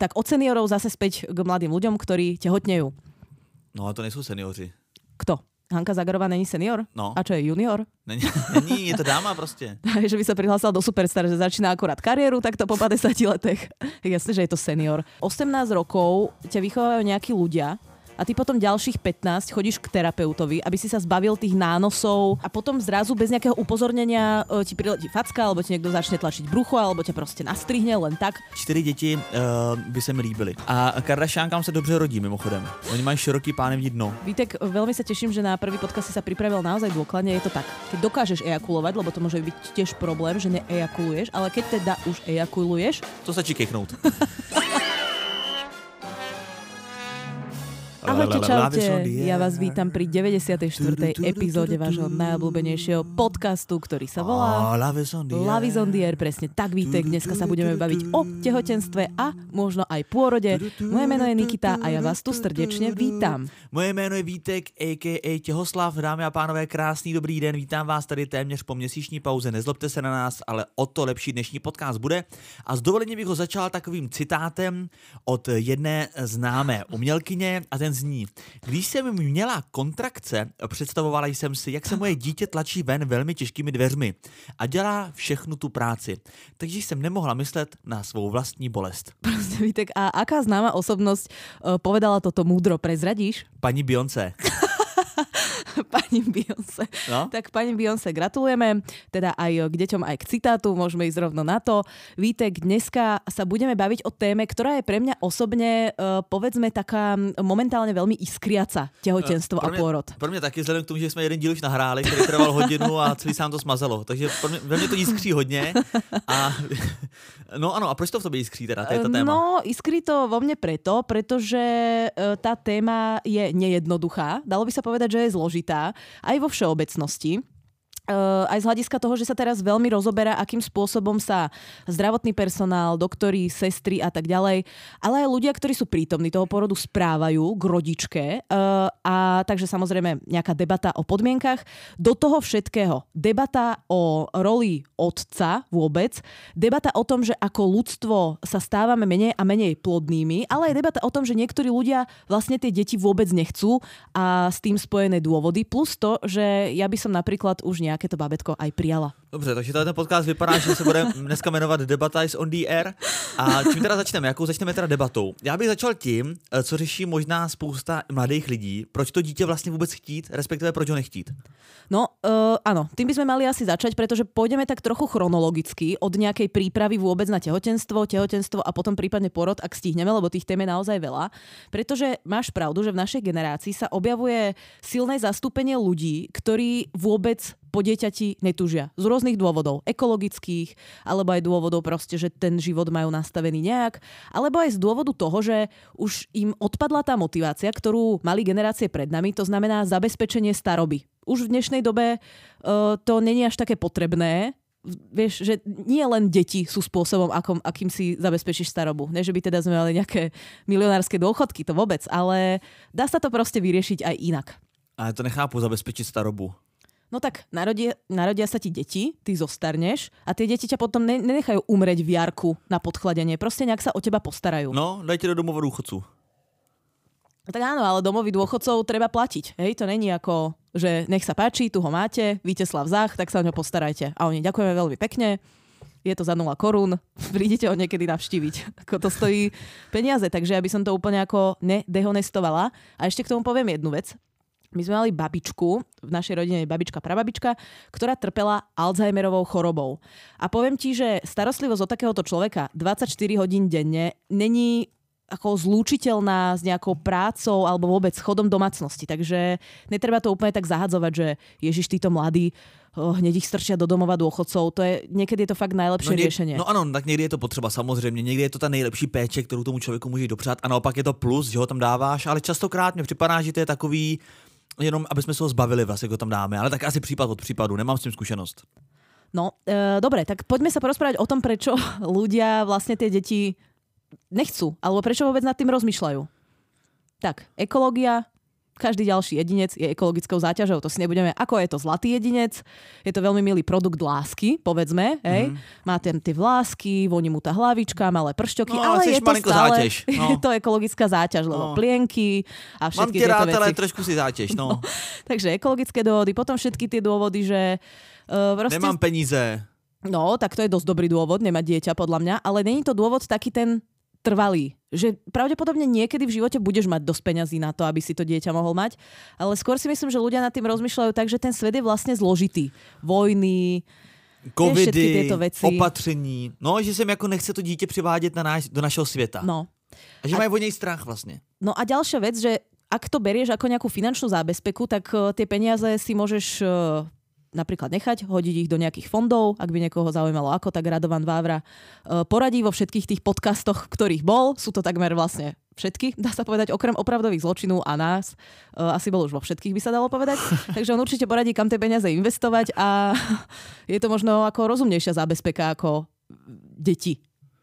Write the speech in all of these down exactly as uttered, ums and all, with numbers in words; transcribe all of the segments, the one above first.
Tak od seniorov zase späť k mladým ľuďom, ktorí tehotnejú. No a to nejsou seniori. Kto? Hanka Zagarová není senior? No. A čo je junior? Není, není, je to dáma prostě. Že by sa prihlásila do Superstar, že začína akurát kariéru, tak to po päťdesiatich letech. Jasne, že je to senior. osemnásť rokov ťa vychovávajú nejakí ľudia a ty potom ďalších pätnásť chodíš k terapeutovi, aby si sa zbavil tých nánosov a potom zrazu bez nejakého upozornenia e, ti priletí facka, alebo ti niekto začne tlačiť brucho, alebo ťa proste nastrihne len tak. Čtyři děti uh, by se mi líbily. A Kardashiankám se dobře rodí mimochodem. Oni mají široký pánevní dno. Vítek, veľmi sa teším, že na prvý podcast si sa pripravil naozaj dôkladne. Je to tak, keď dokážeš ejakulovať, lebo to môže byť tiež problém, že neejakuluješ, ale keď teda už ejakuluješ, to stačí kechnout. Ahojte, čaute, ja vás vítam pri deväťdesiatej štvrtej epizóde vášho najobľúbenejšieho podcastu, ktorý sa volá Love is on the air. Presne tak, Vítek, dneska sa budeme baviť o tehotenstve a možno aj pôrode. Moje meno je Nikita a ja vás tu srdečne vítam. Moje jméno je Vítek, a ká a Těhoslav. Dámy a pánové, krásný dobrý den, vítám vás tady téměř po měsíční pauze. Nezlobte se na nás, ale o to lepší dnešní podcast bude. A s dovolením bych ho začal takovým citátem od jedné známé umělkyně a ten zní: když jsem měla kontrakce, představovala jsem si, jak se moje dítě tlačí ven velmi těžkými dveřmi a dělá všechnu tu práci. Takže jsem nemohla myslet na svou vlastní bolest. Proste, Vítek, a aká známa osobnosť uh, povedala toto múdro, prezradíš? Paní Beyoncé. Pani Beyoncé. No? Tak pani Beyoncé gratulujeme, teda aj k deťom, aj k citátu, môžeme ísť rovno na to. Vítek, dneska sa budeme baviť o téme, ktorá je pre mňa osobne, uh, povedzme, taká momentálne veľmi iskriaca, tehotenstvo uh, a pôrod. Pro mě taky, vzhledem k tomu, že jsme jeden díl už nahráli, který trval hodinu a celý sám to smazalo. Takže pro mě, ve mně to iskří hodně. A, no ano, a proč to v tobě iskří teda, to je ta téma? No, iskrí to vo mne preto, pretože uh, tá téma je nejednoduchá. Dalo by sa povedať, že je zložitá aj vo všeobecnosti. Uh, aj z hľadiska toho, že sa teraz veľmi rozoberá, akým spôsobom sa zdravotný personál, doktori, sestry a tak ďalej, ale aj ľudia, ktorí sú prítomní toho porodu, správajú k rodičke. Uh, a takže samozrejme nejaká debata o podmienkach. Do toho všetkého debata o roli otca vôbec, debata o tom, že ako ľudstvo sa stávame menej a menej plodnými, ale aj debata o tom, že niektorí ľudia vlastne tie deti vôbec nechcú a s tým spojené dôvody, plus to, že ja by som napríklad už nejak nějaké to bábätko aj prijala. Dobře, takže ten podcast vypadá, že se bude dneska jmenovat Debata is on the air. A čím teda začneme? Jakou začneme teda debatou? Já bych začal tím, co řeší možná spousta mladých lidí. Proč to dítě vlastně vůbec chtít, respektive proč ho nechtít? No, uh, áno, tým by sme mali asi začať, pretože pôjdeme tak trochu chronologicky od nejakej prípravy vôbec na tehotenstvo, tehotenstvo a potom prípadne porod, ak stihneme, lebo tých tém je naozaj veľa. Pretože máš pravdu, že v našej generácii sa objavuje silné zastúpenie ľudí, ktorí vôbec po dieťati netúžia. Z rôznych dôvodov. Ekologických, alebo aj dôvodov proste, že ten život majú nastavený nejak, alebo aj z dôvodu toho, že už im odpadla tá motivácia, ktorú mali generácie pred nami, to znamená zabezpečenie staroby. Už v dnešnej dobe uh, to není až také potrebné. Vieš, že nie len deti sú spôsobom, akom, akým si zabezpečíš starobu. Ne, že by teda sme mali nejaké milionárske dôchodky, to vôbec, ale dá sa to proste vyriešiť aj inak. Ale to nechápu, zabezpečiť starobu. No tak narodia, narodia sa ti deti, ty zostarneš a tie deti ťa potom ne, nenechajú umrieť v jarku na podchladenie. Proste nejak sa o teba postarajú. No, dajte do domova dôchodcu. Tak áno, ale domovy dôchodcov treba platiť. Hej, to není ako, že nech sa páči, tu ho máte, Víteslav Zach, tak sa o ňo postarajte. A oni ďakujeme veľmi pekne, je to za nula korún, prídete ho niekedy navštíviť. Ako to stojí peniaze, takže ja by som to úplne ako nedehonestovala. A ešte k tomu poviem jednu vec. My sme mali babičku, v našej rodine je babička, prababička, ktorá trpela Alzheimerovou chorobou. A poviem ti, že starostlivosť od takéhoto človeka dvadsaťštyri hodín denne není ako zlúčiteľná s nejakou prácou alebo vôbec chodom domácnosti. Takže netreba to úplne tak zahadzovať, že ježiš, títo mladí, oh, hneď ich strčia do domova dôchodcov. To je, niekedy je to fakt najlepšie no, nie, riešenie. No ano, tak někdy je to potřeba samozřejmě, někdy je to ta nejlepší péče, kterou tomu člověku můžeš dopřát a naopak je to plus, že ho tam dáváš, ale častokrát mi připadá, že to je takový, jenom aby jsme se ho zbavili, vlastně, ho tam dáme, ale tak asi případ od případu, nemám s tím zkušenost. No, e, dobre, tak poďme sa porozprávať o tom, prečo ľudia vlastne tie deti nechcú, alebo prečo vôbec nad tým rozmýšľajú. Tak, ekológia, každý ďalší jedinec je ekologickou záťažou. To si nebudeme, ako je to zlatý jedinec, je to veľmi milý produkt lásky, povedzme, hej. Mm-hmm. Má tam tie vlásky, voní mu tá hlavička, malé pršťoky, no, ale je to stále záťaž. No. je to ekologická záťaž, lebo no. plienky a všetky tieto rád, veci. ale trošku si záťaž, no. no. Takže ekologické dôvody, potom všetky tie dôvody, že uh, proste... Nemám peníze. No, tak to je dosť dobrý dôvod nemať dieťa, podľa mňa, ale není to dôvod taký ten trvalý, že pravdepodobne niekedy v živote budeš mať dosť peňazí na to, aby si to dieťa mohol mať, ale skôr si myslím, že ľudia nad tým rozmýšľajú tak, že ten svet je vlastne zložitý. Vojny, covidy, opatření, no, že sem jako nechce to dítě přivádět na náš, do našeho světa. No. A že a, majú o nej strach vlastne. No a ďalšia vec, že ak to berieš ako nejakú finančnú zábezpeku, tak uh, tie peniaze si môžeš uh, napríklad nechať, hodiť ich do nejakých fondov, ak by niekoho zaujímalo ako, tak Radovan Vávra uh, poradí vo všetkých tých podcastoch, ktorých bol. Sú to takmer vlastne všetky, dá sa povedať, okrem opravdových zločinov a nás. Uh, asi bol už vo všetkých, by sa dalo povedať. Takže on určite poradí, kam tie peniaze investovať a je to možno ako rozumnejšia zábezpeka ako deti.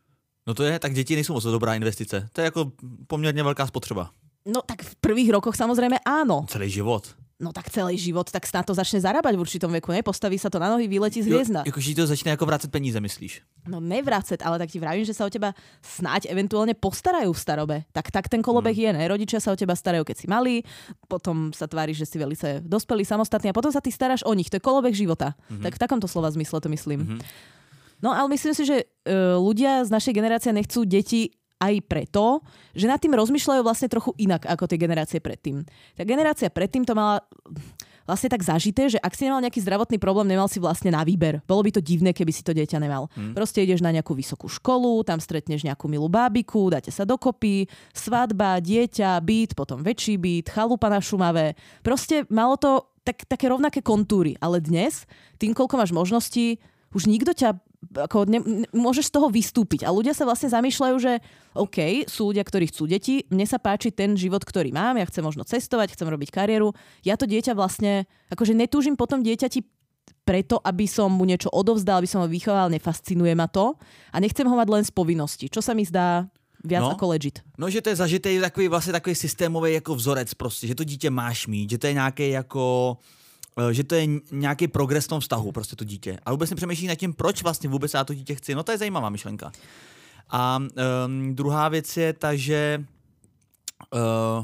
No to je, tak děti nejsou moc dobrá investice. To je jako poměrně velká spotřeba. No tak v prvých rokoch samozrejme áno. Celý život. No tak celý život, tak na to začne zarábať v určitom veku, ne? Postaví sa to na nohy, vyletí z hviezda. Jo, jakože to začne jako vracet peníze, myslíš? No nevracet, ale tak ti vravím, že sa o teba snáď eventuálne postarajú v starobe. Tak, tak ten kolobeh hmm. je, ne? Rodičia sa o teba starajú, keď si malý, potom sa tváriš, že si velice dospelý, samostatný a potom sa ty staráš o nich. To je kolobeh života. Hmm. Tak v takomto slova zmysle to myslím. Hmm. No ale myslím si, že uh, ľudia z našej generácie nechcú deti aj preto, že nad tým rozmýšľajú vlastne trochu inak ako tie generácie predtým. Tá generácia predtým to mala vlastne tak zažité, že ak si nemal nejaký zdravotný problém, nemal si vlastne na výber. Bolo by to divné, keby si to dieťa nemal. Hmm. Proste ideš na nejakú vysokú školu, tam stretneš nejakú milú bábiku, dáte sa dokopy, svadba, dieťa, byt, potom väčší byt, chalupa na Šumave. Proste malo to tak, také rovnaké kontúry. Ale dnes, tým, koľko máš možností, už nikto ťa ako ne, ne, môžeš z toho vystúpiť. A ľudia sa vlastne zamýšľajú, že OK, sú ľudia, ktorí chcú deti, mne sa páči ten život, ktorý mám, ja chcem možno cestovať, chcem robiť kariéru. Ja to dieťa vlastne, akože netúžim potom dieťati preto, aby som mu niečo odovzdal, aby som ho vychoval, nefascinuje ma to a nechcem ho mať len z povinnosti, čo sa mi zdá viac no, ako legit. No, že to je zažitý takový, vlastně takový systémový jako vzorec prostě, že to dítě máš mít, že to je nějaký jako... že to je nějaký progres v tom vztahu, prostě to dítě. A vůbec nepřemýšlí nad tím, proč vlastně vůbec já to dítě chci. No to je zajímavá myšlenka. A um, druhá věc je ta, že... Uh...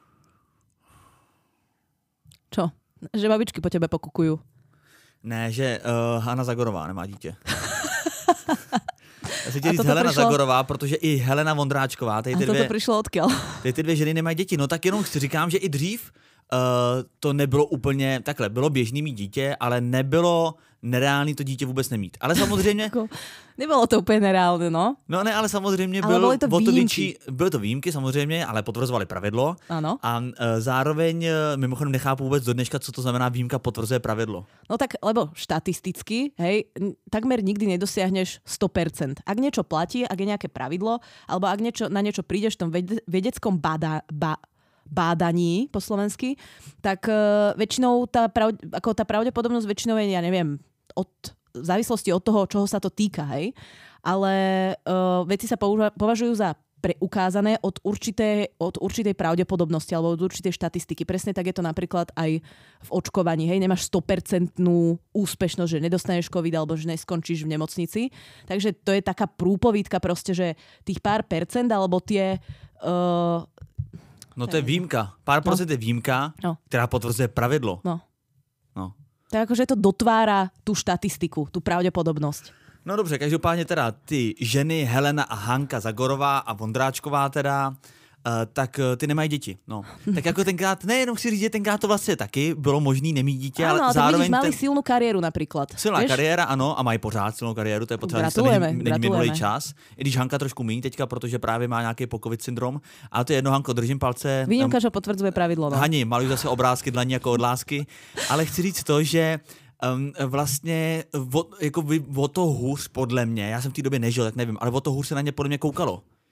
Čo? Že babičky po tebe pokukujú. Ne, že uh, Hana Zagorová nemá dítě. Já si chtěl říct Helena přišlo... Zagorová, protože i Helena Vondráčková, tady ty, dvě, to přišlo odkiaľ? Tady ty dvě ženy nemají děti. No tak jenom si říkám, že i dřív Uh, to nebylo úplně, takhle, bylo běžný mít dítě, ale nebylo nereálný to dítě vůbec nemít. Ale samozřejmě... Nebylo to úplně nereálné, no. No ne, ale samozřejmě ale byl, to, to větší, byly to výjimky samozřejmě, ale potvrzovali pravidlo. Ano. A uh, zároveň, uh, mimochodem nechápu vůbec do dneška, co to znamená výjimka potvrzuje pravidlo. No tak, lebo štatisticky, hej, takmer nikdy nedosiahneš sto percent. Ak niečo platí, ak je nejaké pravidlo, alebo ak niečo, na niečo prídeš v tom vedeckom bada, ba, bádaní po slovensky, tak uh, väčšinou tá, prav, ako tá pravdepodobnosť väčšinou je, ja neviem, od, v závislosti od toho, čoho sa to týka, hej. Ale uh, veci sa použa, považujú za preukázané od, určité, od určitej pravdepodobnosti alebo od určitej štatistiky. Presne tak je to napríklad aj v očkovaní, hej. Nemáš sto percent úspešnosť, že nedostaneš COVID alebo že neskončíš v nemocnici. Takže to je taká prúpovídka proste, že tých pár percent alebo tie... Uh, No to je výjimka. Pár procent no. je výjimka, no. která potvrzuje pravidlo. No. no. Tak akože to dotvára tú štatistiku, tú pravdepodobnosť. No dobře, každopádně teda ty ženy Helena a Hanka Zagorová a Vondráčková teda, Uh, tak uh, ty nemají děti. No. Tak jako tenkrát, nejenom chci říct, že tenkrát to vlastně taky bylo možný nemít dítě, ano, ale zároveň... Ano, mali ten... silnou kariéru napríklad. Silná Vieš? kariéra, ano, a mají pořád silnou kariéru, to je potřeba, že to není, není minulý čas. I když Hanka trošku míň teďka, protože právě má nějaký po-covid syndrom. Ale to je jedno, Hanko, držím palce. Výnimka, že potvrdzuje pravidlo. No. Hani, malují zase obrázky dlaní jako od lásky. Ale chci říct to, že Um, vlastně o, jako vy, o to hůř podle mě, já jsem v té době nežil, tak nevím, ale o to hůř se na ně podle mě koukalo.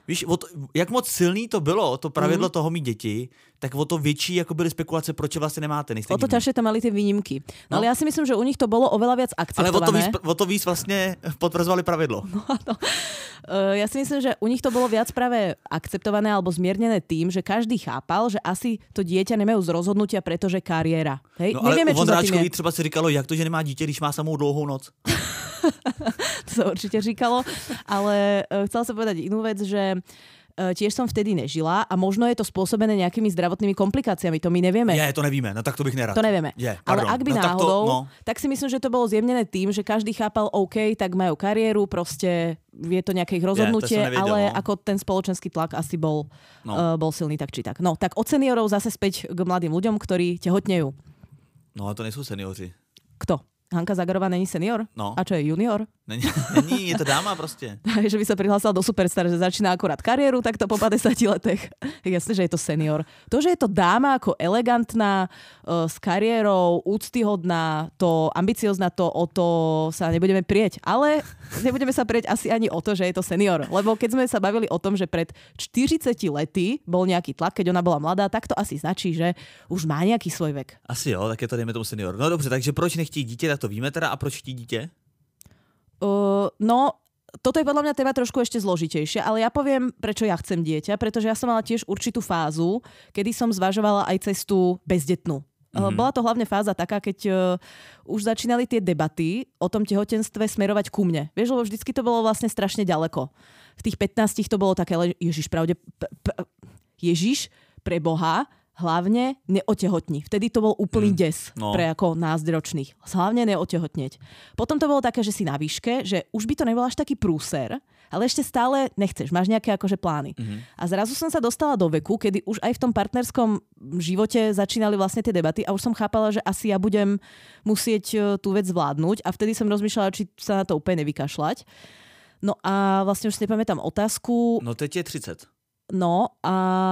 Víš, o to, jak moc silný to bylo, to pravidlo mm. toho mít děti, tak o to větší jako byly spekulace, proč vlastně nemáte. O to ťažšie tam mali tie výnimky. No, no ale ja si myslím, že u nich to bolo oveľa viac akceptované. Ale o to víc, o to víc vlastne potvrzovali pravidlo. No, no. Uh, ja si myslím, že u nich to bolo viac práve akceptované alebo zmiernené tým, že každý chápal, že asi to dieťa nemajú z rozhodnutia, pretože kariéra. Hej? No ale Nevieme, u Vondráčkovi třeba si říkalo, jak to, že nemá dítě, když má samou dlouhou noc. To sa určite říkalo, ale uh, chcela som povedať inú vec, že uh, tiež som vtedy nežila a možno je to spôsobené nejakými zdravotnými komplikáciami, to my nevieme. Je, to nevíme, no tak to bych nerad. To nevieme. Je, ale ak by no, náhodou, tak, to, no. tak si myslím, že to bolo zjemnené tým, že každý chápal, OK, tak majú kariéru, proste je to nejaké ich rozhodnutie, je, nevedel, ale no. ako ten spoločenský tlak asi bol, no. uh, bol silný tak či tak. No, tak od seniorov zase späť k mladým ľuďom, ktorí tehotnejú. No, to nejsou seniori. Kto? Hanka Zagorová není senior? No. A čo je junior? Není, není, je to dáma prostě. Že by sa prihlásila do Superstar, že začína akurát kariéru, tak to po päťdesiatich letech. Jasne, že je to senior. To, že je to dáma ako elegantná, uh, s kariérou, úctyhodná, to ambiciozná, to o to sa nebudeme prieť. Ale nebudeme sa prieť asi ani o to, že je to senior. Lebo keď sme sa bavili o tom, že pred štyridsiatimi lety bol nejaký tlak, keď ona bola mladá, tak to asi značí, že už má nejaký svoj vek. Asi jo, tak je to dejme tomu senior. No dobře, takže proč nechtí dítě, tak to víme teda. A proč chtí dítě? Uh, no, toto je podľa mňa téma trošku ešte zložitejšie, ale ja poviem, prečo ja chcem dieťa, pretože ja som mala tiež určitú fázu, kedy som zvažovala aj cestu bezdetnú. Mm-hmm. Bola to hlavne fáza taká, keď uh, už začínali tie debaty o tom tehotenstve smerovať ku mne. Vieš, lebo vždycky to bolo vlastne strašne ďaleko. V tých pätnástich to bolo také, Ježiš, pravde, p- p- Ježiš, pre Boha, hlavne neotehotni. Vtedy to bol úplný mm, des no. pre ako nás ročných. Hlavne neotehotnieť. Potom to bolo také, že si na výške, že už by to nebol až taký prúser, ale ešte stále nechceš, máš nejaké akože plány. Mm-hmm. A zrazu som sa dostala do veku, kedy už aj v tom partnerskom živote začínali vlastne tie debaty a už som chápala, že asi ja budem musieť tú vec zvládnuť a vtedy som rozmýšľala, či sa na to úplne nevykašľať. No a vlastne už si nepamätám otázku. No teď je tridsať. No a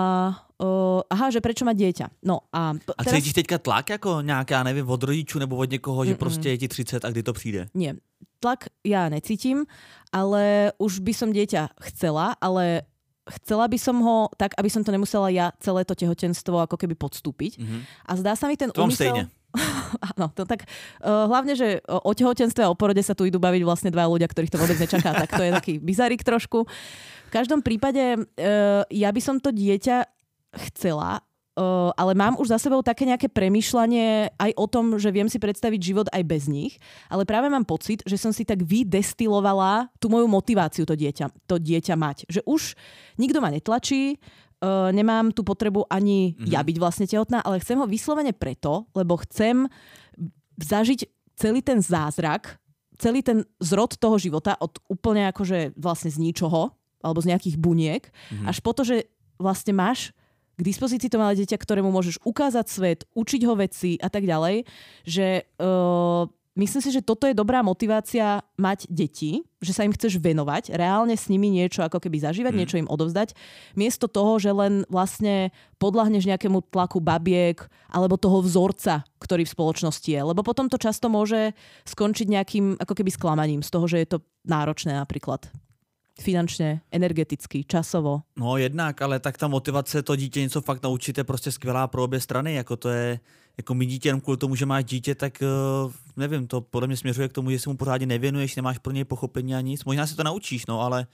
uh, aha, že prečo má dieťa. No a, a teraz... cítíš teďka tlak jako nějaká, nevím, od rodičů nebo od někoho, že Mm-mm. prostě je ti tridsať a kdy to přijde? Nie. Tlak ja necítim, ale už by som dieťa chcela, ale chcela by som ho tak, aby som to nemusela ja celé to tehotenstvo ako keby podstúpiť. Mm-hmm. A zdá sa mi ten to úmysel... stejne. Áno, to tak uh, hlavne, že o tehotenstve a o porode sa tu idú baviť vlastne dva ľudia, ktorých to vôbec nečaká, tak to je taký bizarik trošku. V každom prípade uh, ja by som to dieťa chcela, uh, ale mám už za sebou také nejaké premýšľanie aj o tom, že viem si predstaviť život aj bez nich, ale práve mám pocit, že som si tak vydestilovala tú moju motiváciu to dieťa, to dieťa mať. Že už nikto ma netlačí, Uh, nemám tú potrebu ani mm-hmm. ja byť vlastne tehotná, ale chcem ho vyslovene preto, lebo chcem zažiť celý ten zázrak, celý ten zrod toho života od úplne akože vlastne z ničoho, alebo z nejakých buniek, mm-hmm. až po to, že vlastne máš k dispozícii to malé dieťa, ktorému môžeš ukázať svet, učiť ho veci a tak ďalej, že uh, myslím si, že toto je dobrá motivácia mať deti, že sa im chceš venovať, reálne s nimi niečo ako keby zažívať, mm. niečo im odovzdať, miesto toho, že len vlastne podľahneš nejakému tlaku babiek alebo toho vzorca, ktorý v spoločnosti je. Lebo potom to často môže skončiť nejakým ako keby sklamaním z toho, že je to náročné napríklad. Finančně, energeticky, časovo. No jednak, ale tak ta motivace to dítě něco fakt naučit je prostě skvělá pro obě strany, jako to je, jako mít dítě jenom kvůli tomu, že máš dítě, tak uh, nevím, to podle mě směřuje k tomu, že si mu pořádně nevěnuješ, nemáš pro něj pochopení a nic, možná si to naučíš, no ale...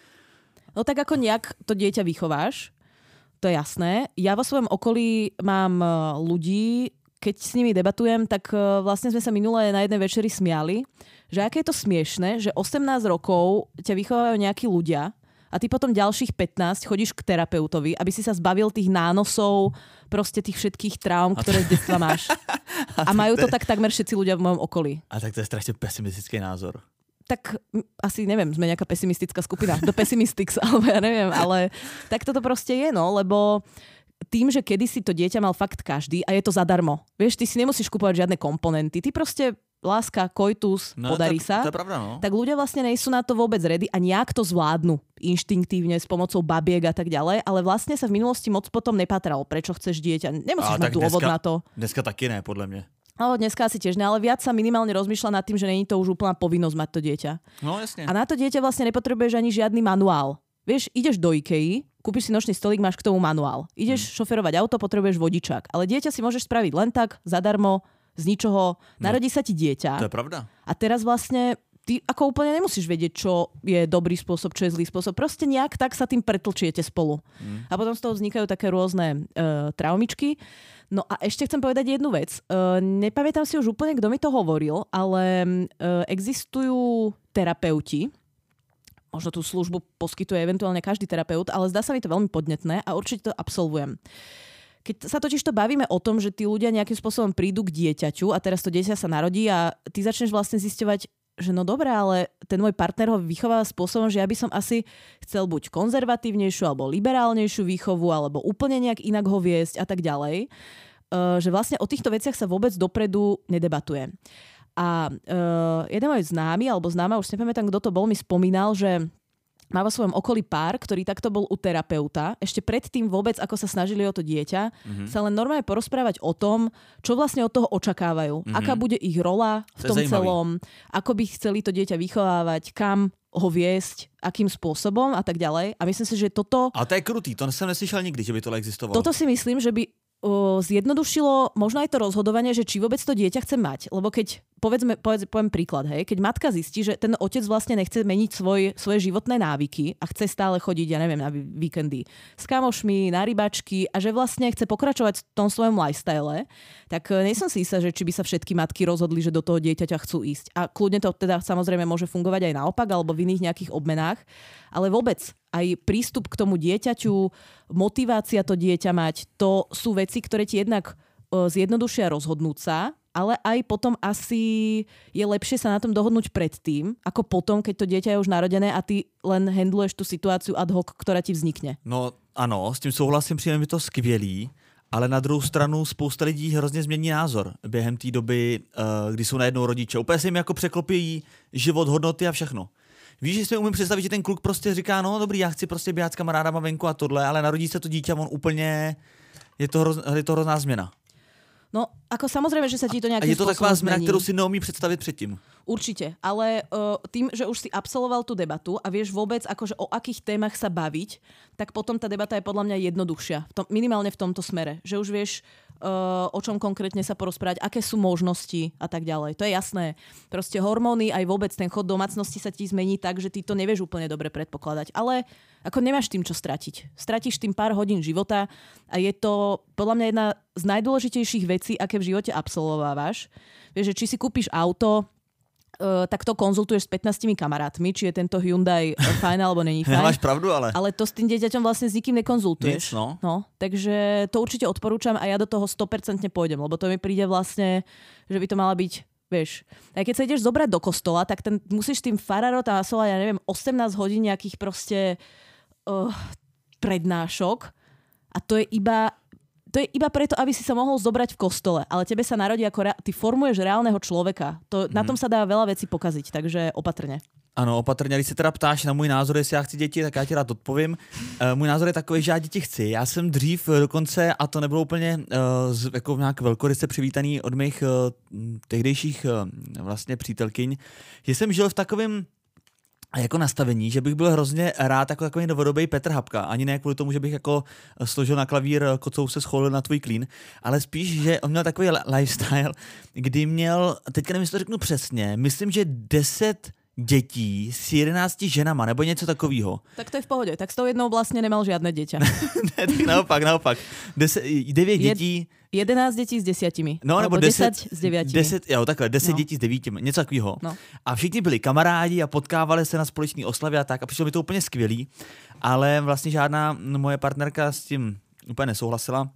No tak ako nejak to dieťa vychováš, to je jasné. Ja vo svojom okolí mám ľudí, keď s nimi debatujem, tak uh, vlastne sme sa minulé na jednej večeri smiali, že aké je to smiešné, že osemnásť rokov ťa vychovávajú nejakí ľudia a ty potom ďalších pätnásť chodíš k terapeutovi, aby si sa zbavil tých nánosov, proste tých všetkých traum, ktoré z detstva máš. A majú to tak takmer všetci ľudia v mojom okolí. A tak to je strašne pesimistický názor. Tak asi neviem, sme nejaká pesimistická skupina. Do Pessimistics, alebo ja neviem, ale tak toto proste je, no, lebo tým, že kedysi to dieťa mal fakt každý a je to zadarmo. Vieš, ty si nemusíš kupovať žiadne komponenty, ty proste láska, koitus, no, podarí to, sa, to je pravda, no. Tak ľudia vlastne nejsú na to vôbec ready a nejak to zvládnu inštinktívne s pomocou babiek a tak ďalej, ale vlastne sa v minulosti moc potom nepatralo, prečo chceš dieťa. Nemusíš mať dôvod dneska, na to. Dneska taky ne, podľa mňa. No, dneska asi tiež ne, ale viac sa minimálne rozmýšľa nad tým, že není to už úplná povinnosť mať to dieťa. No, jasne. A na to dieťa vlastne nepotrebuješ ani žiadny manuál. vieš, ideš do IKEA, kúpiš si nočný stolík, máš k tomu manuál. Ideš hmm. šoferovať auto, potrebuješ vodičák. Ale dieťa si môžeš spraviť len tak, zadarmo, z ničoho. Narodí no, sa ti dieťa. To je pravda. A teraz vlastne ty ako úplne nemusíš vedieť, čo je dobrý spôsob, čo je zlý spôsob. Proste nejak tak sa tým pretlčiete spolu. Hmm. A potom z toho vznikajú také rôzne uh, traumičky. No a ešte chcem povedať jednu vec. Uh, nepamätám si už úplne, kto mi to hovoril, ale uh, existujú terapeuti, možno tú službu poskytuje eventuálne každý terapeut, ale zdá sa mi to veľmi podnetné a určite to absolvujem. Keď sa totiž to bavíme o tom, že tí ľudia nejakým spôsobom prídu k dieťaťu a teraz to dieťa sa narodí a ty začneš vlastne zisťovať, že no dobré, ale ten môj partner ho vychováva spôsobom, že ja by som asi chcel buď konzervatívnejšiu alebo liberálnejšiu výchovu, alebo úplne nejak inak ho viesť a tak ďalej. Uh, že vlastne o týchto veciach sa vôbec dopredu nedebatuje. A uh, jeden môj známy, alebo známa, už si nepamätám, kto to bol, mi spomínal, že má vo svojom okolí pár, ktorý takto bol u terapeuta. Ešte predtým vôbec, ako sa snažili o to dieťa, mm-hmm. sa len normálne porozprávať o tom, čo vlastne od toho očakávajú. Mm-hmm. Aká bude ich rola v tom celom, ako by chceli to dieťa vychovávať, kam ho viesť, akým spôsobom a tak ďalej. A myslím si, že toto... Ale to je krutý, to som neslyšel nikdy, že by to existovalo. Toto si myslím, že by o, zjednodušilo možno aj to rozhodovanie, že či vôbec to dieťa chce mať. Lebo keď, povedzme, povedz, poviem príklad, hej, keď matka zistí, že ten otec vlastne nechce meniť svoj, svoje životné návyky a chce stále chodiť, ja neviem, na víkendy s kamošmi, na rybačky a že vlastne chce pokračovať v tom svojom lifestyle, tak nie som si istá, že či by sa všetky matky rozhodli, že do toho dieťaťa chcú ísť. A kľudne to teda samozrejme môže fungovať aj naopak alebo v iných nejakých obmenách, ale vôbec aj prístup k tomu dieťaťu, motivácia to dieťa mať, to sú veci, ktoré ti jednak zjednodušia rozhodnúť sa, ale aj potom asi je lepšie sa na tom dohodnúť predtým, ako potom, keď to dieťa je už narodené a ty len handluješ tú situáciu ad hoc, ktorá ti vznikne. No ano, s tím souhlasím, přijde mi to skvělý, ale na druhou stranu spousta lidí hrozně změní názor během té doby, kdy jsou najednou rodiče. Úplně se jim jako překlopí život, hodnoty a všechno. Víš, že si umím představit, že ten kluk prostě říká, no dobrý, já chci prostě běhat s kamarádama venku a tohle, ale narodí se to dítě, on úplně, je to, hroz, je to hrozná změna. No, ako samozrejme, že sa ti to nejakým spôsobom zmení. A je to taková zmena, zmení. ktorú si neumí predstaviť predtým. Určite, ale uh, tým, že už si absolvoval tú debatu a vieš vôbec, akože o akých témach sa baviť, tak potom tá debata je podľa mňa jednoduchšia. V tom, minimálne v tomto smere. Že už vieš, uh, o čom konkrétne sa porozprávať, aké sú možnosti a tak ďalej. To je jasné. Proste hormóny, aj vôbec ten chod domácnosti sa ti zmení tak, že ty to nevieš úplne dobre predpokladať. Ale ako nemáš tým čo stratiť. Stratíš tým pár hodín života a je to podľa mňa jedna z najdôležitejších vecí, aké v živote absolvovávaš. Vieš, že či si kúpiš auto, uh, tak to konzultuješ s pätnástimi kamarátmi, či je tento Hyundai fajn alebo není fajn. Nemáš pravdu, ale... Ale to s tým dieťaťom vlastne s nikým nekonzultuješ. Nic, no. No, takže to určite odporúčam a ja do toho sto percent pôjdem, lebo to mi príde vlastne, že by to mala byť, vieš, aj keď sa ideš zobrať do kostola, tak ten musíš tým farárom tam nasovať, ja neviem, osemnásť hodín nejakých proste uh, prednášok a to je iba To je iba preto, aby si sa mohol zobrať v kostole, ale tebe sa narodí ako rea- ty formuješ reálneho človeka. To, mm. Na tom sa dá veľa vecí pokaziť, takže opatrne. Ano, opatrně, když se teda ptáš na můj názor, jestli já chci děti, tak já ti rád odpovím. Uh, můj názor je takový, že já děti chci. Já jsem dřív dokonce, a to nebylo úplně uh, z, jako nějak velkoryse přivítaný od mých uh, tehdejších uh, vlastně přítelkyň, že jsem žil v takovém a jako nastavení, že bych byl hrozně rád jako takový novodobý Petr Hapka. Ani ne kvůli tomu, že bych jako složil na klavír kocou se scholil na tvůj klín, ale spíš, že on měl takový lifestyle, kdy měl, teďka nevím, jestli to řeknu přesně, myslím, že deset dětí s jedenácti ženama, nebo něco takového. Tak to je v pohode. Tak s tou jednou vlastně nemal žiadne dieťa. Ne, tak naopak, naopak. Deset, devět dětí. jedenáct dětí s desiatimi. No, nebo deset, deset s deviatimi. Deset, jo, takhle, deset no. dětí s devítimi, něco takového. No. A všichni byli kamarádi a potkávali se na společné oslavě a tak a přišlo mi to úplně skvělý, ale vlastně žádná moje partnerka s tím úplně nesouhlasila.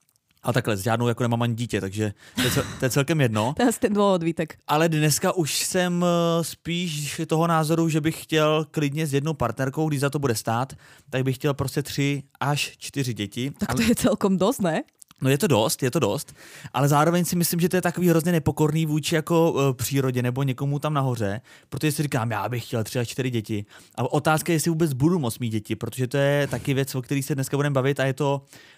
A takhle, s žádnou jako nemám ani dítě, takže to je, cel, to je celkem jedno. To je ten dôvod, Vítek. Ale dneska už jsem spíš toho názoru, že bych chtěl klidně s jednou partnerkou, když za to bude stát, tak bych chtěl prostě tři až čtyři děti. Tak to je celkom dosť, ne? No je to dost, je to dost, ale zároveň si myslím, že to je takový hrozně nepokorný vůči jako uh, přírodě nebo někomu tam nahoře, protože si říkám, já bych chtěl tři až čtyři děti. A otázka je, jestli vůbec budu moct mít děti, protože to je taky věc, o který se dneska budeme bavit a je to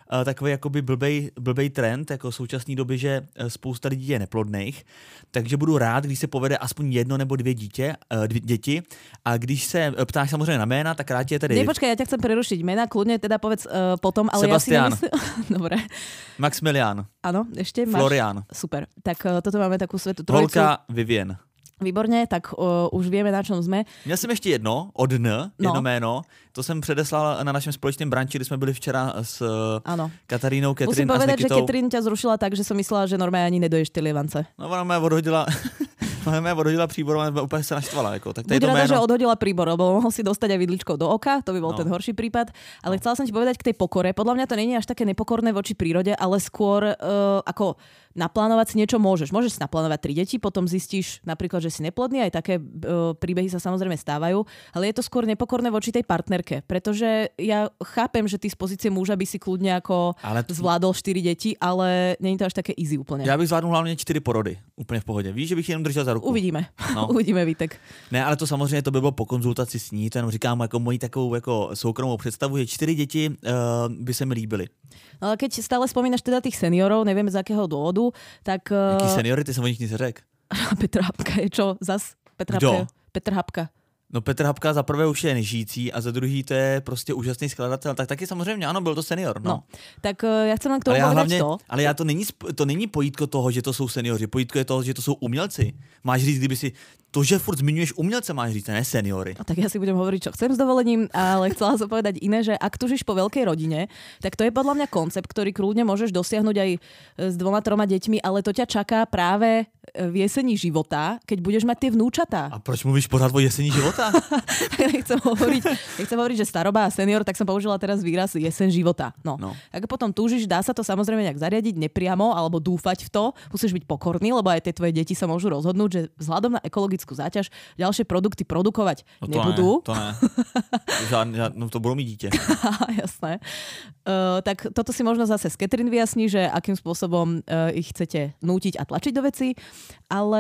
uh, takový jakoby blbej, blbej trend jako v současné době, že spousta lidí je neplodných, takže budu rád, když se povede aspoň jedno nebo dvě dítě, uh, dvě děti a když se ptáš samozřejmě na jména, tak rád je tedy... Ne, počkaj, ja ťa chcem prerušiť. Jména kľudne teda povedz uh, potom, ale Sebastian. ja si nemyslím... Dobre. Maximilian. Áno, ešte máš... Florian. Super. Tak uh, toto máme takú svetú trojicu. Holka Vivien. Výborně, tak uh, už víme, na čom jsme. Měl jsem ještě jedno, od N, jedno no. jméno. To jsem předeslal na našem společném branči, kdy jsme byli včera s ano. Katarínou, Catherine Musím a s povedať, Nikitou. že Catherine ťa zrušila tak, že som myslela, že normálně ani nedoješ ty lievance. No ona mě odhodila... Ona mě odhodila příbor a úplně se naštvala. Jako. Tak Buď rada, že odhodila príbor, lebo mohol si dostať aj vidličkou do oka, to by bol no. ten horší prípad. Ale no. chcela som ti povedať k tej pokore. Podľa mňa to nie je až také nepokorné voči prírode, ale skôr uh, ako naplánovať si niečo môžeš. Môžeš si naplánovať tri deti, potom zistíš napríklad, že si neplodný, aj také uh, príbehy sa samozrejme stávajú, ale je to skôr nepokorné voči tej partnerke, pretože ja chápem, že ty z pozície muža by si kľudne ako ale t- zvládol štyri deti, ale nie je to až také easy úplne. Já bych zvládnul hlavně čtyři porody, úplně v pohodě. Víš, že bych jenom držel za ruku. Uvidíme. No. Uvidíme, Vítek. Ne, ale to samozřejmě to by bylo po konzultaci s ní, to jenom říkám jako moji takovou jako soukromou představu, že čtyři děti uh, by se mi líbily. No, ale keď stále spomínaš teda tých seniorov, neviem z akého dôvodu, tak... Uh... Jaký seniory, ty som o nich nic neřekl. Petr Hapka je čo? Zas? Petr Hapka je... Petr Hapka. No Petr Hapka za prvé už je nežijící a za druhý to je prostě úžasný skladatel. Tak taky samozřejmě, ano, byl to senior. No, no tak uh, já chcem len k tomu ale povedať to. Ale já to není, to není pojítko toho, že to jsou seniori. Pojítko je toho, že to jsou umělci. Máš říct, kdyby si to, že furt zmiňuješ umělce, máš říct, ne seniory. No, tak ja si budem hovoriť, čo chcem s dovolením, ale chcela som povedať iné, že ak tužíš po veľkej rodine, tak to je podľa mňa koncept, ktorý kľudne môžeš dosiahnuť aj s dvoma, troma deťmi, ale to ťa čaká práve v jesení života, keď budeš mať tie vnúčatá. A proč mluvíš pořád o jesení života? nechcem hovoriť, nechcem hovoriť, že staroba a senior, tak som použila teraz výraz jeseň života. No. no. Ak potom túžiš, dá sa to samozrejme nejak zariadiť nepriamo alebo dúfať v to. Musíš byť pokorný, lebo aj tie tvoje deti sa môžu rozhodnúť, že vzhľadom na ekologickú záťaž ďalšie produkty produkovať no to nebudú. Ne, to ne. Žádne, žádne, no to budú mít dieťa. Jasné. Uh, tak toto si možno zase s Catherine vyjasní, že akým spôsobom uh, ich chcete nútiť a tlačiť do veci. Ale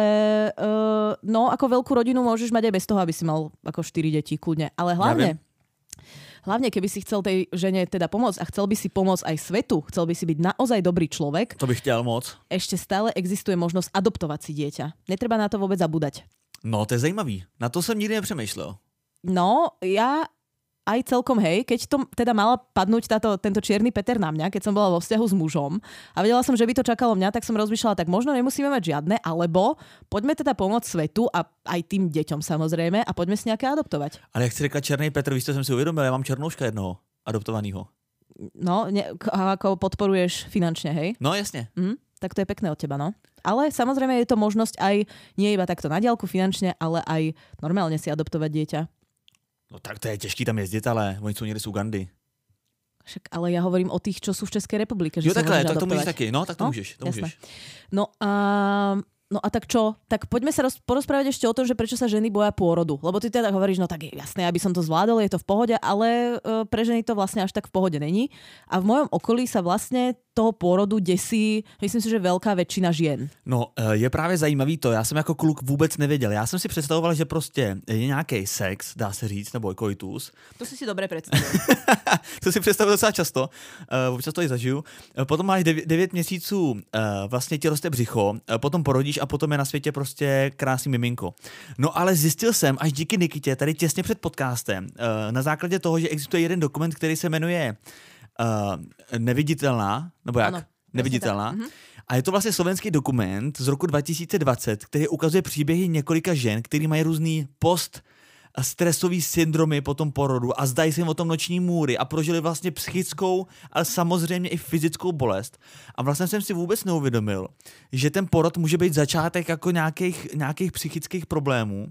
uh, no, ako veľkú rodinu môžeš mať aj bez toho, aby si mal ako štyri deti kľudne. Ale hlavne, ja hlavne keby si chcel tej žene teda pomôcť a chcel by si pomôcť aj svetu, chcel by si byť naozaj dobrý človek. To bych chtěl moc. Ešte stále existuje možnosť adoptovať si dieťa. Netreba na to vôbec zabúdať. No, to je zajímavý. Na to jsem nikdy nepřemýšlel. No, ja aj celkom hej, keď to teda mala padnúť táto, tento čierny Peter na mňa, keď som bola vo vzťahu s mužom a vedela som, že by to čakalo mňa, tak som rozmýšľala, tak možno nemusíme mať žiadne, alebo poďme teda pomôcť svetu a aj tým deťom samozrejme a poďme si nejaké adoptovať. Ale jak si řekla černý Petr, víš, co jsem si uvědomil, ja mám černouška jednoho adoptovaného. No, ne, ako podporuješ finančne, hej? No, jasne. Mm, tak to je pekné od teba, no. Ale samozrejme je to možnosť aj nie iba takto na diaľku finančne, ale aj normálne si adoptovať dieťa. No tak to je těžký tam jezdit, ale oni jsou někde z Ugandy. Však, ale já hovorím o těch, čo jsou v České republike. Že jo, takhle, tak adoptovať. to můžeš taky. No, tak to no? můžeš. To Jasné. můžeš. No a... No a tak čo? Tak poďme sa roz, porozprávať ešte o tom, že prečo sa ženy boja pôrodu. Lebo ty teda hovoríš, no tak je jasné, aby som to zvládol, je to v pohode, ale e, pre ženy to vlastne až tak v pohode není. A v mojom okolí sa vlastne toho pôrodu desí, myslím si, že veľká väčšina žien. No, je právě zajímavý to, já jsem jako kluk vůbec nevěděl. Já jsem si představoval, že prostě je nějaký sex, dá se říct, nebo koitus. To si si dobre predstavil. To si představil docela často, uh, občas to i zažiju. Uh, potom máš devět měsíců, uh, vlastně ti roste břicho, uh, potom porodíš a potom je na světě prostě krásný miminko. No ale zjistil jsem až díky Nikitě, tady těsně před podcastem, uh, na základě toho, že existuje jeden dokument, který se jmenuje Uh, Neviditelná, nebo jak? Ano, Neviditelná. Mhm. A je to vlastně slovenský dokument z roku dva tisíce dvacet, který ukazuje příběhy několika žen, který mají různý post stresový syndromy po tom porodu a zdají se jim o tom noční můry a prožili vlastně psychickou, ale samozřejmě i fyzickou bolest. A vlastně jsem si vůbec neuvědomil, že ten porod může být začátek jako nějakých, nějakých psychických problémů.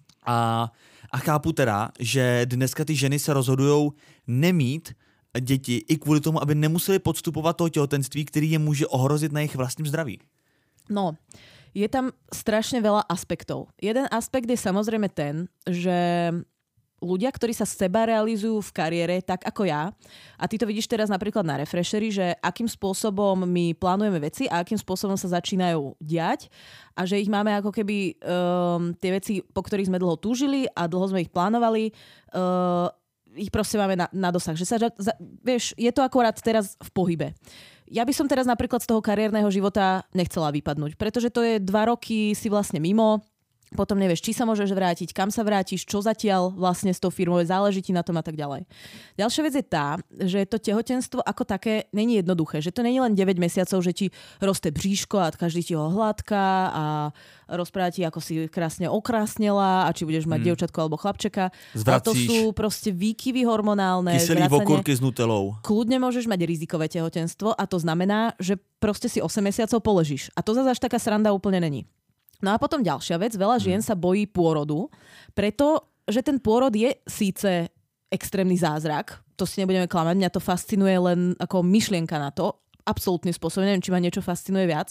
A, a chápu teda, že dneska ty ženy se rozhodujou nemít děti i kvůli tomu, aby nemuseli podstupovat toho těhotenství, který je může ohrozit na jejich vlastním zdraví. No, je tam strašne veľa aspektov. Jeden aspekt je samozrejme ten, že ľudia, ktorí sa seba realizujú v kariére tak ako ja, a ty to vidíš teraz napríklad na Refresheri, že akým spôsobom my plánujeme veci a akým spôsobom sa začínajú diať a že ich máme ako keby um, tie veci, po ktorých sme dlho túžili a dlho sme ich plánovali, uh, ich proste máme na, na dosah. Že sa, za, vieš, je to akorát teraz v pohybe. Ja by som teraz napríklad z toho kariérneho života nechcela vypadnúť, pretože to je dva roky si vlastne mimo, potom nevieš, či sa môžeš vrátiť, kam sa vrátiš, čo zatiaľ vlastne s tou firmou, záleží ti na tom a tak ďalej. Ďalšia vec je tá, že to tehotenstvo ako také není jednoduché, že to není len deväť mesiacov, že ti roste bříško a každý ti ho hladká a rozpráva ti, ako si krásne okrásnela a či budeš mať hmm. dievčatko alebo chlapčeka. Zvracíš. A to sú proste výkyvy hormonálne. Kyselý okurky s nutelou. Kľudne môžeš mať rizikové tehotenstvo a to znamená, že proste si osem mesiacov položíš. A to zase až taká sranda úplne není. No a potom ďalšia vec, veľa žien sa bojí pôrodu, pretože ten pôrod je síce extrémny zázrak, to si nebudeme klamať, mňa to fascinuje len ako myšlienka na to, absolútnym spôsobom, neviem, či ma niečo fascinuje viac,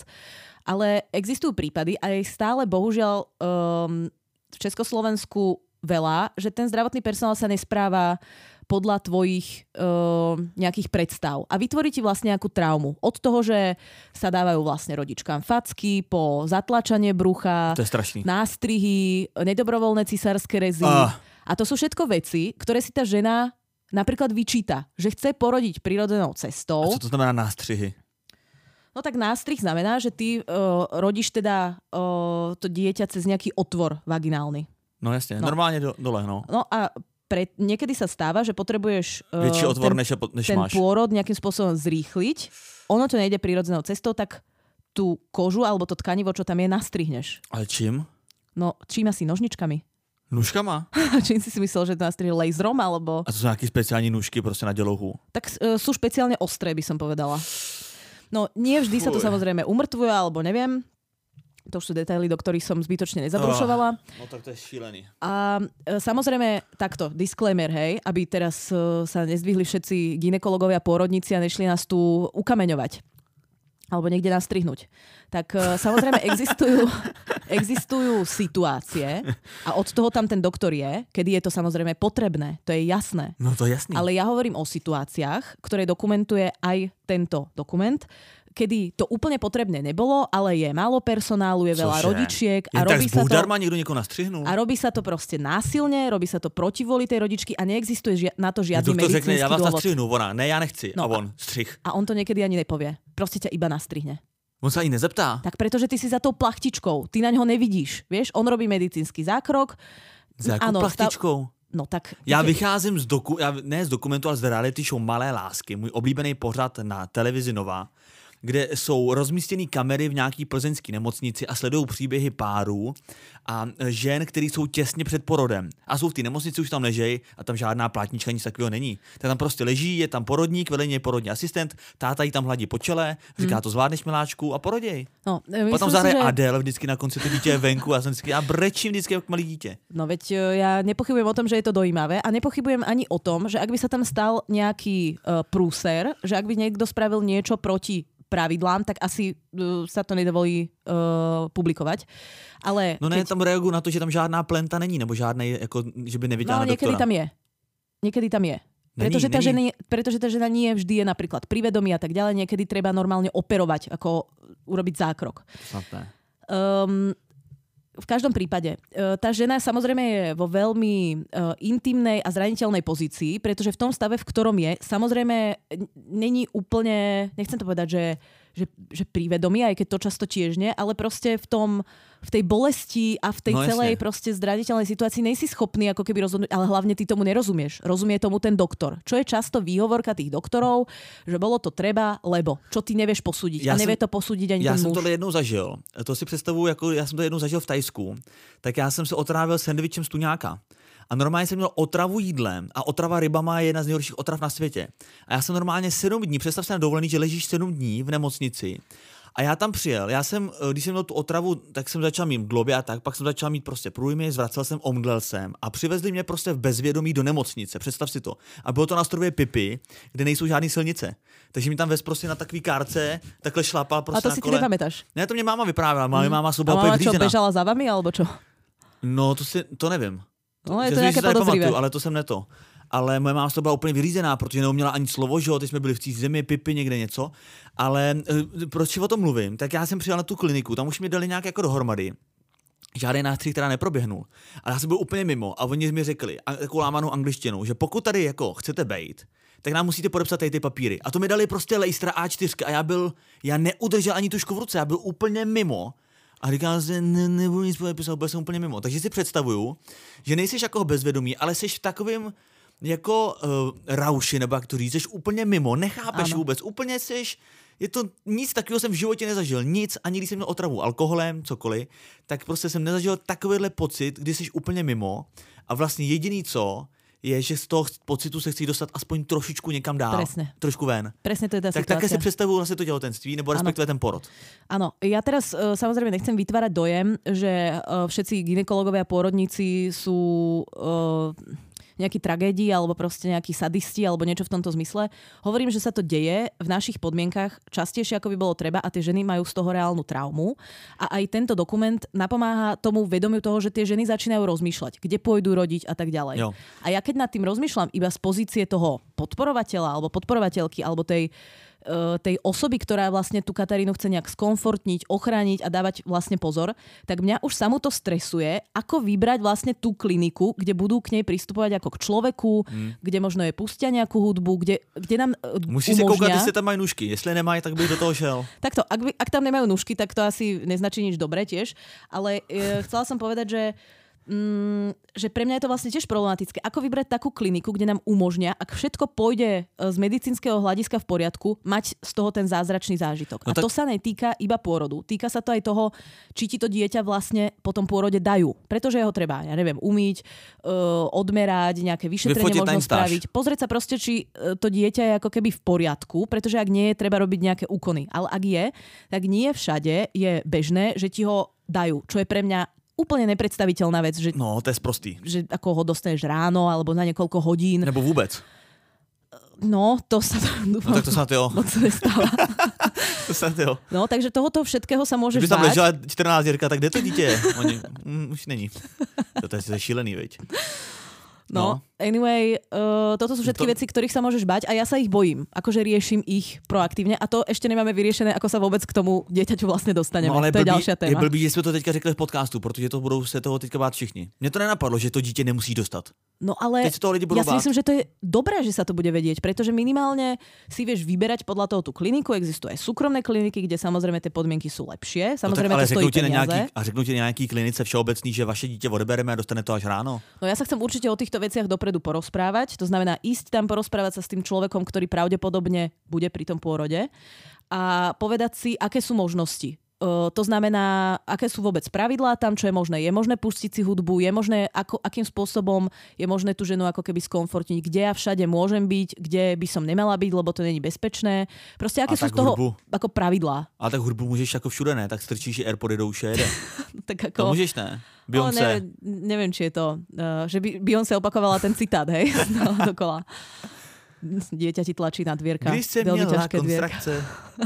ale existujú prípady a je stále bohužiaľ um, v Československu veľa, že ten zdravotný personál sa nespráva podľa tvojich uh, nejakých predstav. A vytvorí ti vlastne nejakú traumu. Od toho, že sa dávajú vlastne rodičkám facky, po zatlačanie brucha, to je strašný. Nástrihy, nedobrovoľné cisárske rezy. Ah. A to sú všetko veci, ktoré si tá žena napríklad vyčíta. Že chce porodiť prirodzenou cestou. A co to znamená nástrihy? No tak nástrih znamená, že ty uh, rodíš teda uh, to dieťa cez nejaký otvor vaginálny. No jasne, no. Normálne do, dole, no. No a Pre, niekedy sa stáva, že potrebuješ uh, väčší otvor, ten, než, než ten máš. pôrod nejakým spôsobom zrýchliť. Ono to nejde prirodzenou cestou, tak tú kožu alebo to tkanivo, čo tam je, nastrihneš. Ale čím? No, čím asi? Nožničkami. Nůžkama? Čím si si myslel, že to nastrihne laserom, alebo... A to sú nejaké speciální nůžky prostě na dělouhu? Tak uh, sú špeciálne ostré, by som povedala. No, nie vždy sa to samozrejme umrtvuje, alebo neviem. To už sú detaily, do ktorých som zbytočne nezabrušovala. Oh, no tak to je šílený. A e, samozrejme, takto, disclaimer, hej, aby teraz e, sa nezdvihli všetci gynekologovia, pôrodníci a nešli nás tu ukameňovať. Alebo niekde nastrihnúť. Tak e, samozrejme existujú, existujú situácie a od toho tam ten doktor je, kedy je to samozrejme potrebné. To je jasné. No to je jasný. Ale ja hovorím o situáciách, ktoré dokumentuje aj tento dokument, kedy to úplne potrebné nebolo, ale je málo personálu, je veľa Cože? rodičiek a Jen robí tak sa to... darma niekto niekoho nastrihnul? A robí sa to proste násilne, robí sa to proti voli tej rodičky a neexistuje žia- na to žiadny medicínsky medicínsky řekne, ja vás dôvod. nastrihnu, ona, ne, ja nechci. No a on, střih. A on to niekedy ani nepovie. Proste ťa iba nastrihne. On sa ani nezeptá. Tak pretože ty si za tou plachtičkou, ty na ňo nevidíš, vieš? On robí medicínsky zákrok. Za jakou plachtičkou? Stav... No tak... Já vycházím z, doku... Já, ne z dokumentu, ale z reality show Malé lásky, můj oblíbený pořad na televizi Nova, kde jsou rozmístěné kamery v nějaký plzeňské nemocnici a sledují příběhy párů a žen, který jsou těsně před porodem. A jsou v té nemocnici, už tam ležejí a tam žádná plátnička, nic takového není. Tak tam prostě leží, je tam porodník, vedle něj porodní asistent, táta jí tam hladí po čele, říká, to zvládneš, miláčku, a poroděj. No, potom zahraje si, že... Adele vždycky na konci, to dítě je venku a já jsem vždycky, já brečím vždycky jako malý dítě. No veď ja nepochybujem o tom, že je to dojímavé a nepochybujem ani o tom, že ak by sa tam stal nejaký uh, prúser, že ak by niekto spravil niečo proti pravidlám, tak asi uh, sa to nedovolí uh, publikovať. Ale no ne, keď... tam reagujú na to, že tam žádná plenta není, nebo žádnej, jako, že by neviděla no, na doktora. niekedy tam je. Niekedy tam je. Není, pretože, tá není. žena, pretože tá žena nie vždy je napríklad pri vedomí a tak ďalej. Niekedy treba normálne operovať, ako urobiť zákrok. Um, v každom prípade, tá žena samozrejme je vo veľmi uh, intimnej a zraniteľnej pozícii, pretože v tom stave, v ktorom je, samozrejme není úplne, nechcem to povedať, že, že, že pri vedomí, aj keď to často tiež nie, ale proste v tom, v tej bolesti a v tej no, celej jasne. proste zraniteľnej situácii nejsi schopný ako keby rozhodnúť, ale hlavne ty tomu nerozumieš. Rozumie tomu ten doktor. Čo je často výhovorka tých doktorov, že bolo to treba, lebo čo ty nevieš posúdiť. Já a nevie jsem, to posúdiť ani já ten jsem muž. tohle jednou zažil. To si představuji, jako já jsem to jednou zažil v Tajsku. Tak já jsem se otrávil sendvičem z tuňáka. A normálně jsem měl otravu jídlem a otrava rybama je jedna z nejhorších otrav na světě. A já jsem normálně sedm dní, představ se na dovolený, že ležíš sedm dní v nemocnici. A já tam přijel, já jsem, když jsem měl tu otravu, tak jsem začal mít globě a tak, pak jsem začal mít prostě průjmy, zvracel jsem, omdlel jsem a přivezli mě prostě v bezvědomí do nemocnice, představ si to. A bylo to na ostrově Pipi, kde nejsou žádné silnice. Takže mi tam vez prostě na takový kárce, takhle šlapal prostě a to na si kole. ty nepamätáš? Ne, to mě máma vyprávěla, mm. máma A byla máma úplně čo, vyřízená. bežala za vami, alebo čo? No, to si, to nevím. No, je Že to nějaké podozrivé. Ale to jsem neto. Ale moje máma z toho byla úplně vyřízená, protože neuměla ani slovo, že jo, teď jsme byli v cizí zemi, Pipi, někde něco. Ale e, proč si o tom mluvím? Tak já jsem přijel na tu kliniku, tam už mi dali nějak jako dohromady, žádný nástřih teda neproběhnul. Ale já jsem byl úplně mimo a oni mi řekli takovou lámanou angličtinou, že pokud tady jako chcete bejt, tak nám musíte podepsat tady ty papíry. A to mi dali prostě lejstra á čtyři a já byl, já neudržel ani tušku v ruce, já byl úplně mimo. A říkal jsem, ne, nebudu nic podepisovat, byl jsem úplně mimo. Takže si představuju, že nejsiš jako bezvědomý, ale jsi v takovém jako uh, rauši, nebo jak to říct, jsi úplně mimo, nechápeš ano. vůbec, úplně jsi, je to nic takového jsem v životě nezažil, nic, ani když jsem měl otravu alkoholem, cokoliv, tak prostě jsem nezažil takovýhle pocit, kdy jsi úplně mimo a vlastně jediný co, je, že z toho pocitu se chci dostat aspoň trošičku někam dál. Presne. Trošku ven. Presne to je tá tak situácia. také si představuju vlastně to těhotenství, nebo respektive ten porod. Áno, ja teraz uh, samozrejme nechcem vytvárať dojem, že uh, všetci gynekologovia a pôrodníci sú uh, nejakí tragédii alebo proste nejakí sadisti alebo niečo v tomto zmysle. Hovorím, že sa to deje v našich podmienkach častejšie, ako by bolo treba a tie ženy majú z toho reálnu traumu. A aj tento dokument napomáha tomu vedomiu toho, že tie ženy začínajú rozmýšľať, kde pôjdu rodiť a tak ďalej. Jo. A ja keď nad tým rozmýšľam iba z pozície toho podporovateľa alebo podporovateľky alebo tej tej osoby, ktorá vlastne tú Katarínu chce nejak skomfortniť, ochrániť a dávať vlastne pozor, tak mňa už samo to stresuje, ako vybrať vlastne tú kliniku, kde budú k nej pristupovať ako k človeku, mm. kde možno je pustia nejakú hudbu, kde, kde nám Musí umožňa... si koukať, jestli tam majú nůžky. Jestli nemají, tak by do toho šel. Takto, ak, by, ak tam nemajú nůžky, tak to asi neznačí nič dobré tiež, ale e, chcela som povedať, že Mm, že pre mňa je to vlastne tiež problematické. Ako vybrať takú kliniku, kde nám umožnia, ak všetko pôjde z medicínskeho hľadiska v poriadku, mať z toho ten zázračný zážitok. No tak... A to sa netýka iba pôrodu. Týka sa to aj toho, či ti to dieťa vlastne po tom pôrode dajú. Pretože ho treba, ja neviem, umyť, uh, odmerať, nejaké vyšetrenie možno spraviť. Pozrieť sa proste, či to dieťa je ako keby v poriadku, pretože ak nie je, treba robiť nejaké úkony. Ale ak je, tak nie všade je bežné, že ti ho dajú. Čo je pre mňa úplne nepredstaviteľná vec, že, no, to je sprostý. Že ako ho dostaneš ráno alebo na niekoľko hodín. Nebo vôbec. No, to sa... No tak to sa to moc nestáva. To sa to No, takže tohoto všetkého sa môžeš báť. Kdyby tam ležela čtrnáctírka, tak kde to dítě je? Oni, mm, už není. To je šílený, veď. No, no, anyway, uh, toto sú všetky to... veci, ktorých sa môžeš bať a ja sa ich bojím. Akože riešim ich proaktívne a to ešte nemáme vyriešené, ako sa vôbec k tomu dieťaťu vlastne dostaneme. No, ale to je blbý, ďalšia téma. Je blbý, že jsme to teďka řekli v podcastu, protože to budou se toho teďka bát všichni. Mně to nenapadlo, že to dítě nemusí dostat. No ale ja si myslím, že to je dobré, že sa to bude vedieť, pretože minimálne si vieš vyberať podľa toho tú kliniku. Existujú aj súkromné kliniky, kde samozrejme tie podmienky sú lepšie. Samozrejme no tak, ale to stojí peniaze. Nejaký, a řeknú ti na nejaký klinice všeobecný, že vaše dieťa odebereme a dostane to až ráno? No ja sa chcem určite o týchto veciach dopredu porozprávať. To znamená ísť tam porozprávať sa s tým človekom, ktorý pravdepodobne bude pri tom pôrode a povedať si, aké sú možnosti. Uh, to znamená, aké sú vôbec pravidlá tam, čo je možné. Je možné pustiť si hudbu, je možné, ako, akým spôsobom je možné tú ženu ako keby skomfortniť, kde ja všade môžem byť, kde by som nemala byť, lebo to není bezpečné. Proste aké sú z toho hudbu, ako pravidlá. A tak hudbu môžeš ako všude, ne? Tak strčíš Airpody do uše, jede. Tak ako... To môžeš, ne? Beyoncé. No, neviem, neviem, či je to, uh, že by Beyoncé opakovala ten citát, hej? No, dokola. Dieťa ti tlačí na dvierka. Když se měla konstrakce.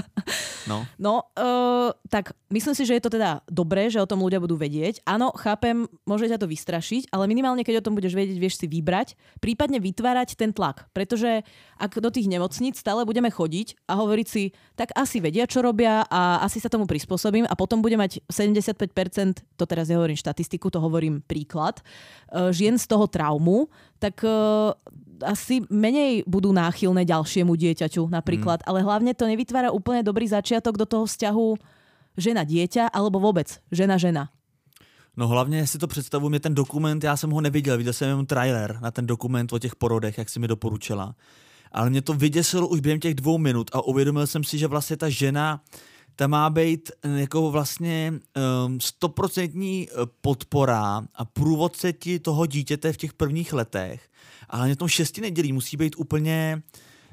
No, no uh, tak myslím si, že je to teda dobré, že o tom ľudia budú vedieť. Áno, chápem, môže ťa to vystrašiť, ale minimálne, keď o tom budeš vedieť, vieš si vybrať, prípadne vytvárať ten tlak. Pretože ak do tých nemocníc stále budeme chodiť a hovoriť si, tak asi vedia, čo robia a asi sa tomu prispôsobím a potom bude mať sedemdesiatpäť percent, to teraz nehovorím štatistiku, to hovorím príklad, uh, žien z toho traumu, tak uh, asi menej budú náchylné ďalšiemu dieťaťu napríklad, mm. ale hlavne to nevytvára úplne dobrý začiatok do toho vzťahu žena-dieťa alebo vôbec žena-žena. No hlavně si to představuji, mě ten dokument, já jsem ho neviděl, viděl jsem jenom trailer na ten dokument o těch porodech, jak si mi doporučila. Ale mě to vyděsilo už během těch dvou minut a uvědomil jsem si, že vlastně ta žena, ta má být jako vlastně stoprocentní um, podpora a průvodce ti toho dítěte v těch prvních letech. Ale na tom šesti nedělí musí být úplně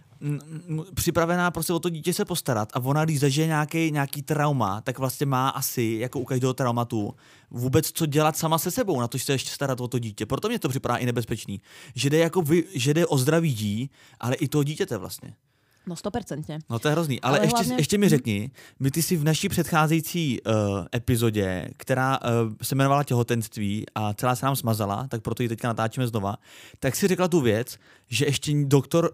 m, připravená prostě o to dítě se postarat. A ona, když zažije nějaký, nějaký trauma, tak vlastně má asi, jako u každého traumatu, vůbec co dělat sama se sebou, na to se ještě starat o to dítě. Proto mě to připadá i nebezpečný. Že jde, jako vy, že jde o zdraví dí, ale i toho dítěte vlastně. No sto percent. No to je hrozný. Ale, ale ještě, hlavně... ještě mi řekni, my ty jsi v naší předcházející uh, epizodě, která uh, se jmenovala těhotenství a celá se nám smazala, tak proto ji teďka natáčíme znova, tak si řekla tu věc, že ještě doktor,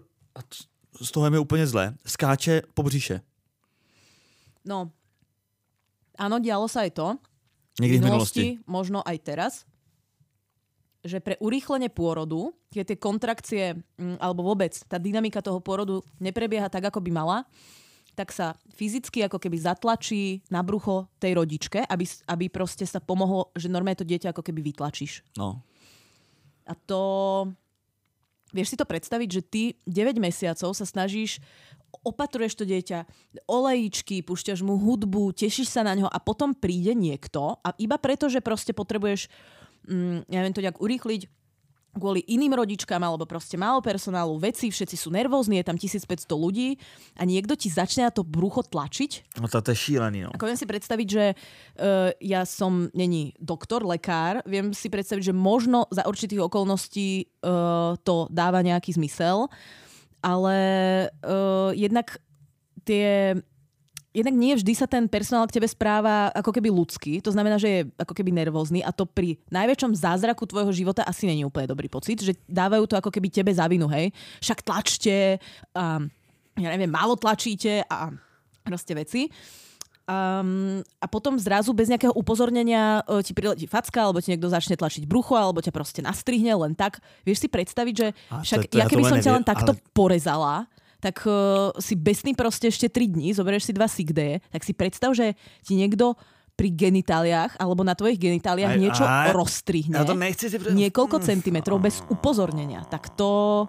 z toho je mi úplně zle, skáče po břiše. No, áno, dialo sa aj to. Niekdy v minulosti. Možno aj teraz, že pre urýchlenie pôrodu, keď tie kontrakcie, alebo vôbec tá dynamika toho pôrodu neprebieha tak, ako by mala, tak sa fyzicky ako keby zatlačí na brucho tej rodičke, aby, aby proste sa pomohlo, že normálne to dieťa ako keby vytlačíš. No. A to... Vieš si to predstaviť, že ty deväť mesiacov sa snažíš, opatruješ to dieťa, olejíčky, púšťaš mu hudbu, tešíš sa na ňo a potom príde niekto a iba preto, že proste potrebuješ, mm, ja neviem to nejak urýchliť, kvôli iným rodičkám alebo proste málo personálu, veci, všetci sú nervózni, je tam tisícpäťsto ľudí a niekto ti začne na to brucho tlačiť. No to, to je šílený, no. Ako viem si predstaviť, že uh, ja som, není doktor, lekár, viem si predstaviť, že možno za určitých okolností uh, to dáva nejaký zmysel, ale uh, jednak tie... Jednak nie vždy sa ten personál k tebe správa ako keby ľudský, to znamená, že je ako keby nervózny a to pri najväčšom zázraku tvojho života asi není úplne dobrý pocit, že dávajú to ako keby tebe za vinu, hej. Však tlačte, a, ja neviem, málo tlačíte a proste veci. Um, a potom zrazu bez nejakého upozornenia uh, ti priletí facka, alebo ti niekto začne tlačiť brucho, alebo ťa proste nastrihne len tak. Vieš si predstaviť, že však to, to ja keby ja som neviem, ťa len takto ale... porezala, tak uh, si besný proste ešte tri dní, zoberieš si dva sick day, tak si predstav, že ti niekto pri genitáliách alebo na tvojich genitáliách aj, niečo aj, rozstrihne ja to nechci si pre... niekoľko centimetrov bez upozornenia. Tak to...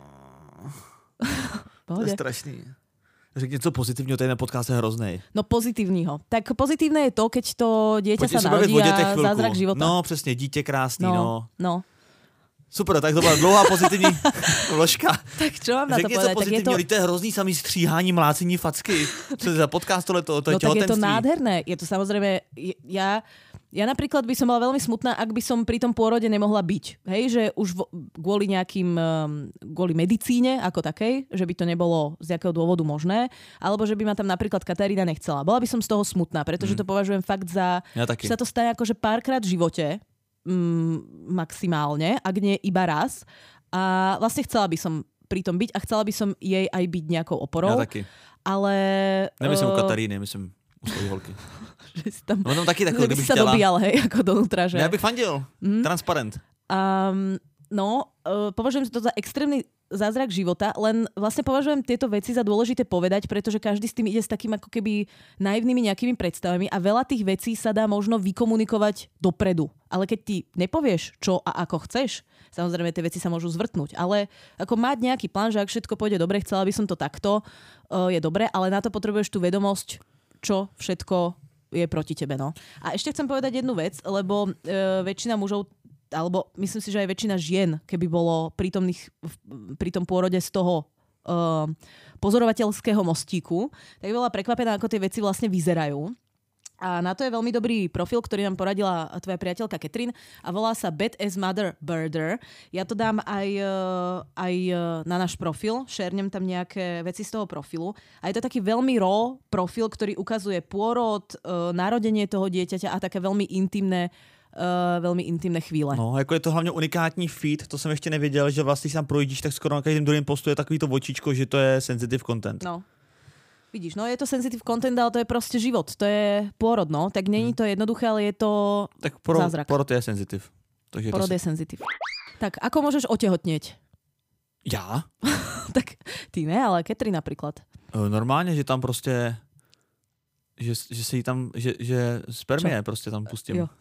To je strašný. Řekni něco pozitivního, tady na podcast je hroznej. No pozitívního. Tak pozitívne je to, keď to dieťa Pojďte sa narodí a zázrak života. No přesně, dítě krásný, no. No, no. Super, tak to byla dlouhá pozitivní vložka. Tak čo mám na Řekni to povedať? Tak je to... to je hrozný samý stříhání, mlácení facky. Co je za podcast tohleto? To je no tak je to nádherné. Je to samozrejme... Ja, ja napríklad by som bola veľmi smutná, ak by som pri tom pôrode nemohla byť. Hej, že už vo, kvôli nejakým... kvôli medicíne ako takej, že by to nebolo z jakého dôvodu možné, alebo že by ma tam napríklad Katarína nechcela. Bola by som z toho smutná, pretože mm. to považujem fakt za... Ja taky. Že sa to stane akože párkrát v živote, Mm, maximálne, ak nie iba raz. A vlastne chcela by som pri tom byť a chcela by som jej aj byť nejakou oporou. Ja taky. Ale... Nemyslím uh... u Kataríny, myslím u svojej holky. že si tam... No tam taky takové, kdyby chtěla. Že by sa dobíjal, hej, ako donútra, že... Ja bych fandil. Mm. Transparent. Um, no, uh, považujem to za extrémny zázrak života, len vlastne považujem tieto veci za dôležité povedať, pretože každý s tým ide s takým ako keby naivnými nejakými predstavami a veľa tých vecí sa dá možno vykomunikovať dopredu. Ale keď ty nepovieš, čo a ako chceš, samozrejme tie veci sa môžu zvrtnúť, ale ako mať nejaký plán, že ak všetko pôjde dobre, chcela by som to takto, je dobre, ale na to potrebuješ tú vedomosť, čo všetko je proti tebe. No. A ešte chcem povedať jednu vec, lebo e, väčšina mužov alebo myslím si, že aj väčšina žien, keby bolo prítomných pri tom pôrode z toho uh, pozorovateľského mostíku, tak by bola prekvapená, ako tie veci vlastne vyzerajú. A na to je veľmi dobrý profil, ktorý nám poradila tvoja priateľka Katrin a volá sa Bad as Mother Birder. Ja to dám aj, uh, aj uh, na náš profil, šernem tam nejaké veci z toho profilu. A je to taký veľmi raw profil, ktorý ukazuje pôrod, uh, narodenie toho dieťaťa a také veľmi intimné Uh, velmi intimné chvíle. No, jako je to hlavně unikátní feed, to jsem ještě nevěděl, že vlastně si tam projíždíš, tak skoro na každém druhém postu je takový to očičko, že to je sensitive content. No. Vidíš, no je to sensitive content, ale to je prostě život, to je pôrod, no, tak není hmm. to jednoduché, ale je to tak pro, zázrak. Porod je sensitive. Takže porod to je sensitive. Tak, ako môžeš otehotnieť? Já? Tak ty ne, ale Katrin napríklad. Normálně, že tam prostě Že, že si tam, že, že spermie Čo? prostě tam pustím. Jo.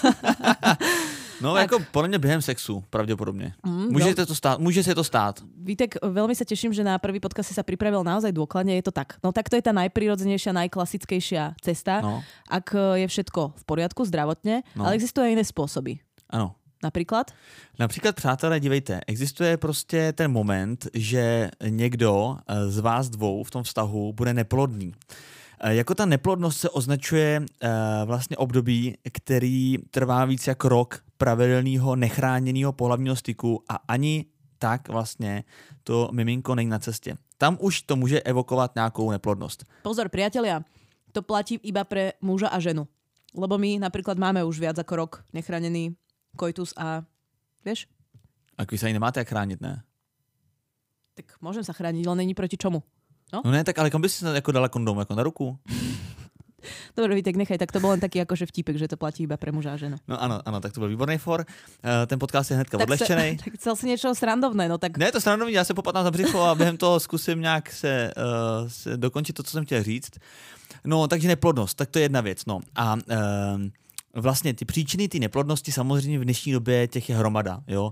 No tak. Jako podle mě během sexu, pravděpodobně. Mm, může, to stát, může se to stát. Vítek, veľmi sa teším, že na prvý podcast si sa pripravil naozaj dôkladne, je to tak. No tak to je tá najprirodzenejšia, najklasickejšia cesta, no. Ak je všetko v poriadku zdravotne, no. Ale existujú aj iné spôsoby. Ano. Například? Například, přátelé, dívejte, existuje prostě ten moment, že někdo z vás dvou v tom vztahu bude neplodný. Jako ta neplodnost se označuje uh, vlastně období, který trvá víc jak rok pravidelného nechráněného pohlavního styku a ani tak vlastně to miminko není na cestě. Tam už to může evokovat nějakou neplodnost. Pozor, priatelia, to platí iba pre muža a ženu. Lebo my napríklad máme už viac ako rok nechránený koitus a vieš? A vy sa ani nemáte jak chránit, ne? Tak môžem sa chrániť, ale není proti čomu. No? no ne, tak ale kam bys si jako dala kondom? Jako na ruku? Dobre, Vítek, nechaj, tak to bol len taký akože vtipek, že to platí iba pre muža a ženu. No ano, ano, tak to byl výborný for. Uh, ten podcast je hnedka tak odlehčenej. Se, tak chcel si niečo srandovné, no tak... Ne, je to srandovní, já se popatám za břicho a během toho zkusím nějak se, uh, se dokončit to, co jsem chtěl říct. No, takže neplodnost, tak to je jedna věc, no. A uh, vlastně ty příčiny ty neplodnosti samozřejmě v dnešní době těch je hromada, jo.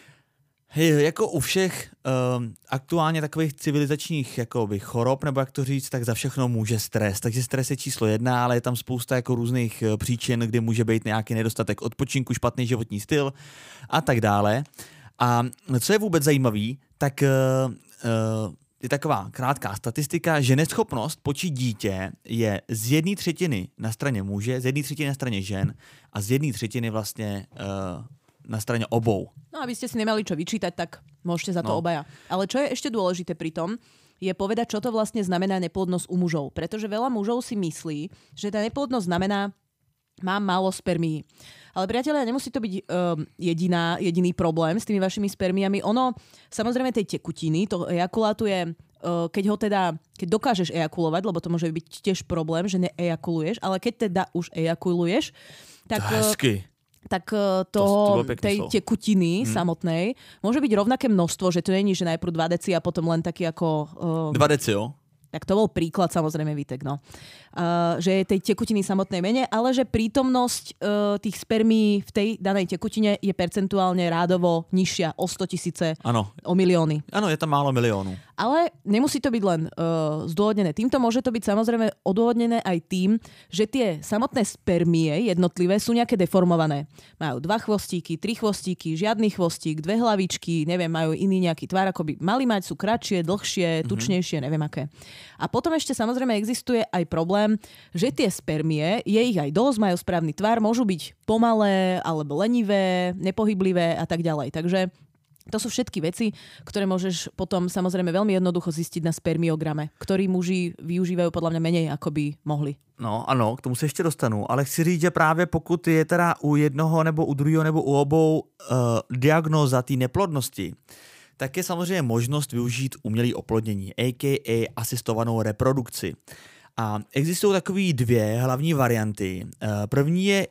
Hej, jako u všech um, aktuálně takových civilizačních jakoby, chorob, nebo jak to říct, tak za všechno může stres. Takže stres je číslo jedna, ale je tam spousta jako různých uh, příčin, kdy může být nějaký nedostatek odpočinku, špatný životní styl a tak dále. A co je vůbec zajímavý, tak uh, uh, je taková krátká statistika, že neschopnost počít dítě je z jedné třetiny na straně muže, z jedné třetiny na straně žen a z jedné třetiny vlastně... Uh, na straně obou. No aby ste si nemali čo vyčítať, tak môžete za to no. obaja. Ale čo je ešte dôležité pri tom, je povedať, čo to vlastne znamená neplodnosť u mužov. Pretože veľa mužov si myslí, že tá neplodnosť znamená, mám málo spermií. Ale priatelia, nemusí to byť um, jediná, jediný problém s tými vašimi spermiami. Ono, samozrejme tej tekutiny, to ejakulátu je, uh, keď ho teda, keď dokážeš ejakulovať, lebo to môže byť tiež problém, že neejakuluješ, ale keď teda už ejakuluješ, tak... Hezky. tak toho, to, to tej slov. tekutiny hmm. samotnej môže byť rovnaké množstvo, že to není, že najprv dva deci a potom len taký ako... Uh, dva deci, jo? Tak to bol príklad, samozrejme, Vítek, no. Uh, že je tej tekutiny samotnej menej, ale že prítomnosť uh, tých spermií v tej danej tekutine je percentuálne rádovo nižšia o sto tisíce, ano. o milióny. Ano, je tam málo miliónů. Ale nemusí to byť len uh, zdôvodnené týmto, môže to byť samozrejme odôvodnené aj tým, že tie samotné spermie jednotlivé sú nejaké deformované. Majú dva chvostíky, tri chvostíky, žiadny chvostík, dve hlavičky, neviem, majú iný nejaký tvar, ako by mali mať, sú kratšie, dlhšie, tučnejšie, neviem aké. A potom ešte samozrejme existuje aj problém, že tie spermie, je ich aj dosť, majú správny tvar, môžu byť pomalé, alebo lenivé, nepohyblivé a tak ďalej. Takže to sú všetky veci, ktoré môžeš potom samozrejme veľmi jednoducho zistiť na spermiograme, ktorý muži využívajú podľa mňa menej, ako by mohli. No ano, k tomu se ještě dostanu, ale chci říct, že právě pokud je teda u jednoho nebo u druhého nebo u obou uh, diagnóza té neplodnosti, tak je samozřejmě možnost využít umělé oplodnění, a k a asistovanou reprodukci. A existují takové dvě hlavní varianty. První je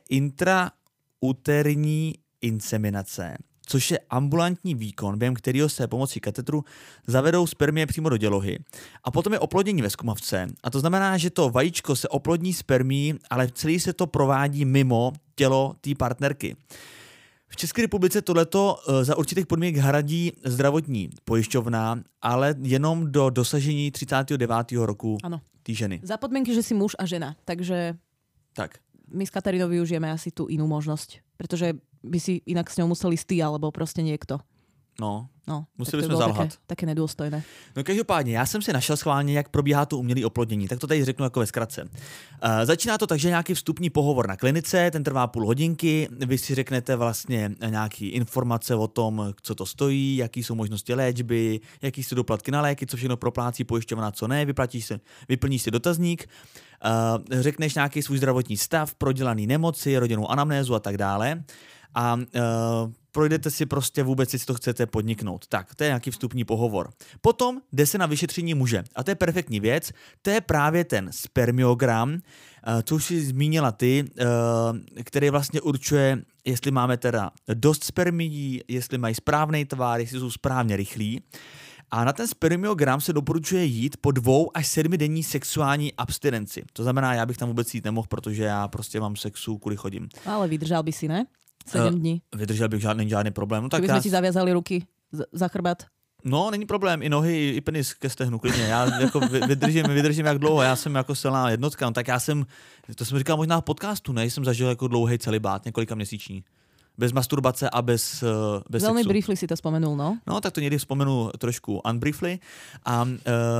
intrauterní inseminace, což je ambulantní výkon, během kterého se pomocí katetru zavedou spermie přímo do dělohy. A potom je oplodnění ve zkumavce. A to znamená, že to vajíčko se oplodní spermií, ale celý se to provádí mimo tělo té partnerky. V České republice tohleto za určitých podmínek hradí zdravotní pojišťovna, ale jenom do dosažení třicátého devátého roku té ženy. Za podmienky, že si muž a žena. Takže tak. My s Katarínou využijeme asi tú inú možnosť. Pretože by si inak s ňou museli ty, alebo proste niekto. No, no museli jsme zalhat. Také, také nedůstojné. No každopádně, já jsem si našel schválně, jak probíhá to umělé oplodnění, tak to tady řeknu jako ve zkratce. Uh, začíná to tak, že nějaký vstupní pohovor na klinice, ten trvá půl hodinky, vy si řeknete vlastně nějaký informace o tom, co to stojí, jaký jsou možnosti léčby, jaký jsou doplatky na léky, co všechno proplácí pojišťovna, co ne, vyplatíš si, vyplníš si dotazník, uh, řekneš nějaký svůj zdravotní stav, prodělaný nemoci, rodinnou anamnézu a tak dále. A uh, projdete si prostě vůbec, jestli to chcete podniknout. Tak, to je nějaký vstupní pohovor. Potom jde se na vyšetření muže. A to je perfektní věc. To je právě ten spermiogram, uh, co už si zmínila ty, uh, který vlastně určuje, jestli máme teda dost spermií, jestli mají správný tvar, jestli jsou správně rychlí. A na ten spermiogram se doporučuje jít po dvou až sedmi denní sexuální abstinenci. To znamená, já bych tam vůbec jít nemohl, protože já prostě mám sexu, kvůli chodím. Ale vydržal by si, ne? sedm dní. Uh, vydržel bych žádný, žádný problém. No, tak kdyby já... jsme ti zavězali ruky za chrbát. No, není problém, i nohy, i penis ke stehnu, klidně. Já jako vydržím, vydržím jak dlouho, já jsem jako silná jednotka, no, tak já jsem, to jsem říkal možná v podcastu, ne, jsem zažil jako dlouhý celibát, několika měsíční. Bez masturbace a bez, bez Velmi sexu. briefly si to vzpomenul, no? No, tak to někdy vzpomenu trošku unbriefly. A, uh,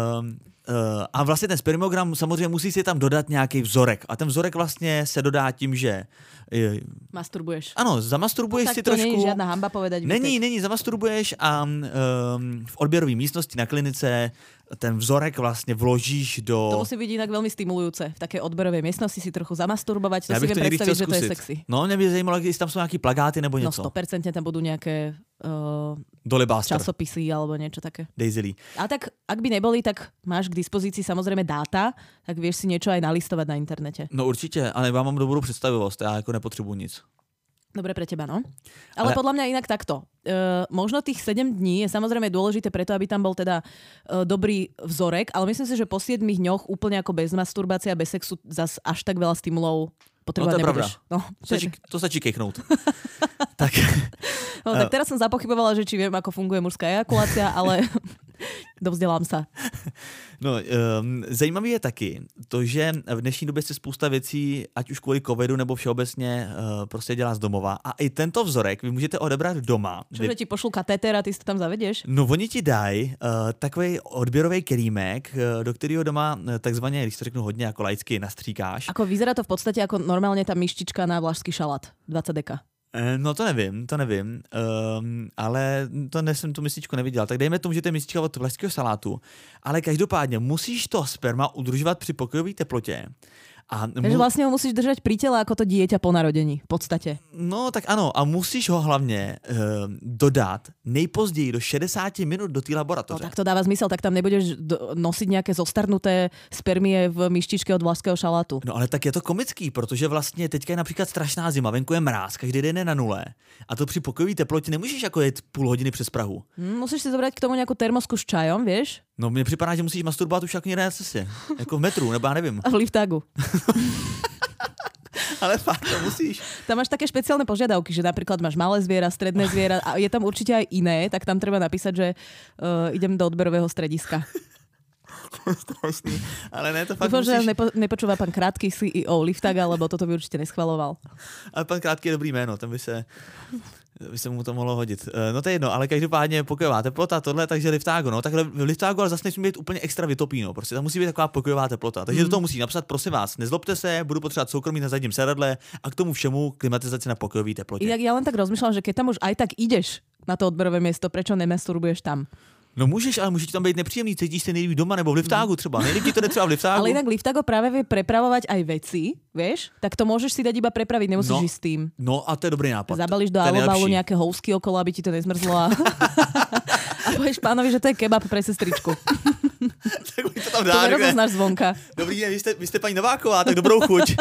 uh, a vlastně ten spermiogram samozřejmě musí si tam dodat nějaký vzorek. A ten vzorek vlastně se dodá tím, že... Uh, masturbuješ. Ano, zamasturbuješ no, si to trošku. není žádná hamba povedať. Není, Vítek. není, zamasturbuješ a um, v odběrové místnosti na klinice ten vzorek vlastně vložíš do... To musí být jinak velmi stimulujúce. V také odberové místnosti si trochu zamasturbovat, to já si viem predstaviť, že to je zkusit. sexy. No, mě by zajímalo, jestli tam jsou nějaký plagáty nebo něco. No sto percent tam budú nejaké uh, Dolibáster. časopisy alebo niečo také. Daisy Lee. A tak, ak by neboli, tak máš k dispozícii samozrejme dáta, tak vieš si niečo aj nalistovať na internete. No určitě, ale já mám dobrou představivost, já jako nepotřebuji nic. Dobre pre teba, no. Ale, Ale... podľa mňa inak takto. E, možno tých sedem dní je samozrejme dôležité preto, aby tam bol teda e, dobrý vzorek, ale myslím si, že po siedmich dňoch úplne ako bez masturbácie a bez sexu zas až tak veľa stimulov potrebovať no, to nebudeš. No, to stačí, to stačí kejknout. tak. No tak teraz som zapochybovala, že či viem, ako funguje mužská ejakulácia, ale dovzdělám se. No, um, zajímavý je taky to, že v dnešní době se spousta věcí, ať už kvůli covidu nebo všeobecně, uh, prostě dělá z domova. A i tento vzorek vy můžete odebrat doma. Čo, že ti pošlu katéter a ty si to tam zavedeš? No, oni ti dají uh, takový odběrový kelímek, uh, do kterého doma uh, takzvaně, když to řeknu hodně jako laicky, nastříkáš. Ako vyzerá to v podstatě jako normálně ta myštička na vlašský šalát, dvacet deka. No to nevím, to nevím, um, ale to ne, jsem tu mističku neviděl. Tak dejme tomu, že to je mistička od vlašského salátu, ale každopádně musíš to sperma udržovat při pokojové teplotě. A mu... Takže vlastně ho musíš držet pri tele jako to dieťa po narodení, v podstatě. No tak ano, a musíš ho hlavně uh, dodat nejpozději do šedesát minut do té laboratoře. No tak to dává zmysel, tak tam nebudeš nosit nějaké zostarnuté spermie v myštičke od vlašského šalátu. No ale tak je to komický, protože vlastně teďka je například strašná zima, venku je mráz, každý den je na nule. A to při pokojové teplotě nemůžeš jako jet půl hodiny přes Prahu. Hmm, musíš si zobrať k tomu nějakou termosku s čajom, víš? No mně připadá, že musíš masturbovat už jako někde na cestě. Jako v metru, nebo já nevím. A v liftágu. Ale fakt to musíš. Tam máš také špeciálne požiadavky, že napríklad máš malé zviera, stredné zviera a je tam určite aj iné, tak tam treba napísať, že uh, idem do odberového strediska. Strašný. Ale ne, to fakt Dúfam, musíš... že nepo, nepočúva pán Krátký C E O Liftaga, lebo toto by určite neschvaloval. Ale pán Krátký je dobrý jméno, tam by se... by se mu to mohlo hodit. No to je jedno, ale každopádně pokojová teplota, tohle, takže liftágo, no, takhle v liftágu ale zase nesmí být úplně extra vytopí, no, prostě tam musí být taková pokojová teplota. Takže mm. do toho musí napsat, prosím vás, nezlobte se, budu potřebovat soukromí na zadním sedadle a k tomu všemu klimatizaci na pokojové teplotě. Inak ja len tak rozmýšľam, že keď tam už aj tak ideš na to odberové miesto, prečo nemasturbuješ tam? No můžeš, ale může ti tam být nepříjemný, cítíš se nejlíp doma nebo v liftágu třeba. Nejlíp ti to jde třeba v liftágu. Ale inak liftágo práve vie prepravovať aj veci, vieš? Tak to môžeš si dať iba prepraviť, nemusíš no, ísť s tým. No a to je dobrý nápad. Zabalíš do alobalu nejaké housky okolo, aby ti to nezmrzlo a, a povieš pánovi, že to je kebab pre sestričku. Tak to tam dá. To nerozoznáš zvonka. Dobrý den, vy jste, vy jste paní Nováková, tak dobrou chuť.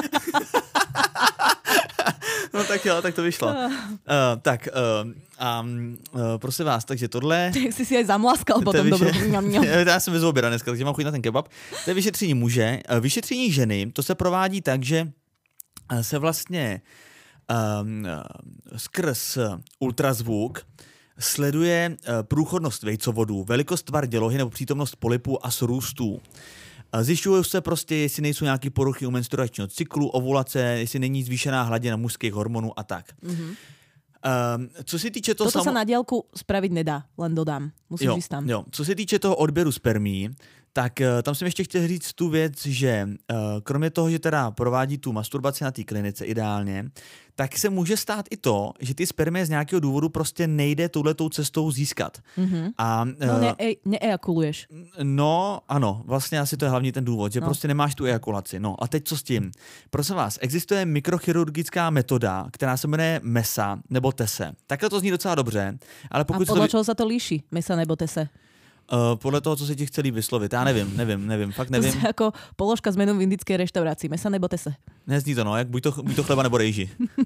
No tak jo, tak to vyšlo. Uh, tak, uh, um, uh, prosím vás, takže tohle... Tak jsi si aj zamlaskal potom vyše... dobrou. Já jsem vyzval oběda dneska, takže mám chuť na ten kebab. To je vyšetření muže. Uh, vyšetření ženy, to se provádí tak, že se vlastně um, skrz ultrazvuk sleduje uh, průchodnost vejcovodů, velikost tvar dělohy nebo přítomnost polipů a srůstů. Zjišťují se prostě, jestli nejsou nějaké poruchy u menstruačního cyklu, ovulace, jestli není zvýšená hladina mužských hormonů a tak. Mm-hmm. Um, co se týče toho... Toto samo... sa na diaľku spraviť nedá, len dodám. Musíš jo, ísť tam. Jo. Co se týče toho odběru spermí, tak uh, tam jsem ještě chtěl říct tu věc, že uh, kromě toho, že teda provádí tu masturbaci na té klinice ideálně, tak se může stát i to, že ty spermie z nějakého důvodu prostě nejde touhletou cestou získat. Mm-hmm. A, uh, no ne, neejakuluješ. No ano, vlastně asi to je hlavní ten důvod, že no. prostě nemáš tu ejakulaci. No a teď co s tím? Prosím vás, existuje mikrochirurgická metoda, která se jmenuje MESA nebo TESE. Takhle to zní docela dobře, ale pokud... A podle to... čeho se to líší, MESA nebo TESE? Uh, podle toho, co se ti chce líp vyslovit. Já nevím, nevím, nevím, fakt nevím. To je jako položka s menu v indické restauraci. Mesa nebo tese? Nezní to, no, jak buď to, buď to chleba nebo rejži.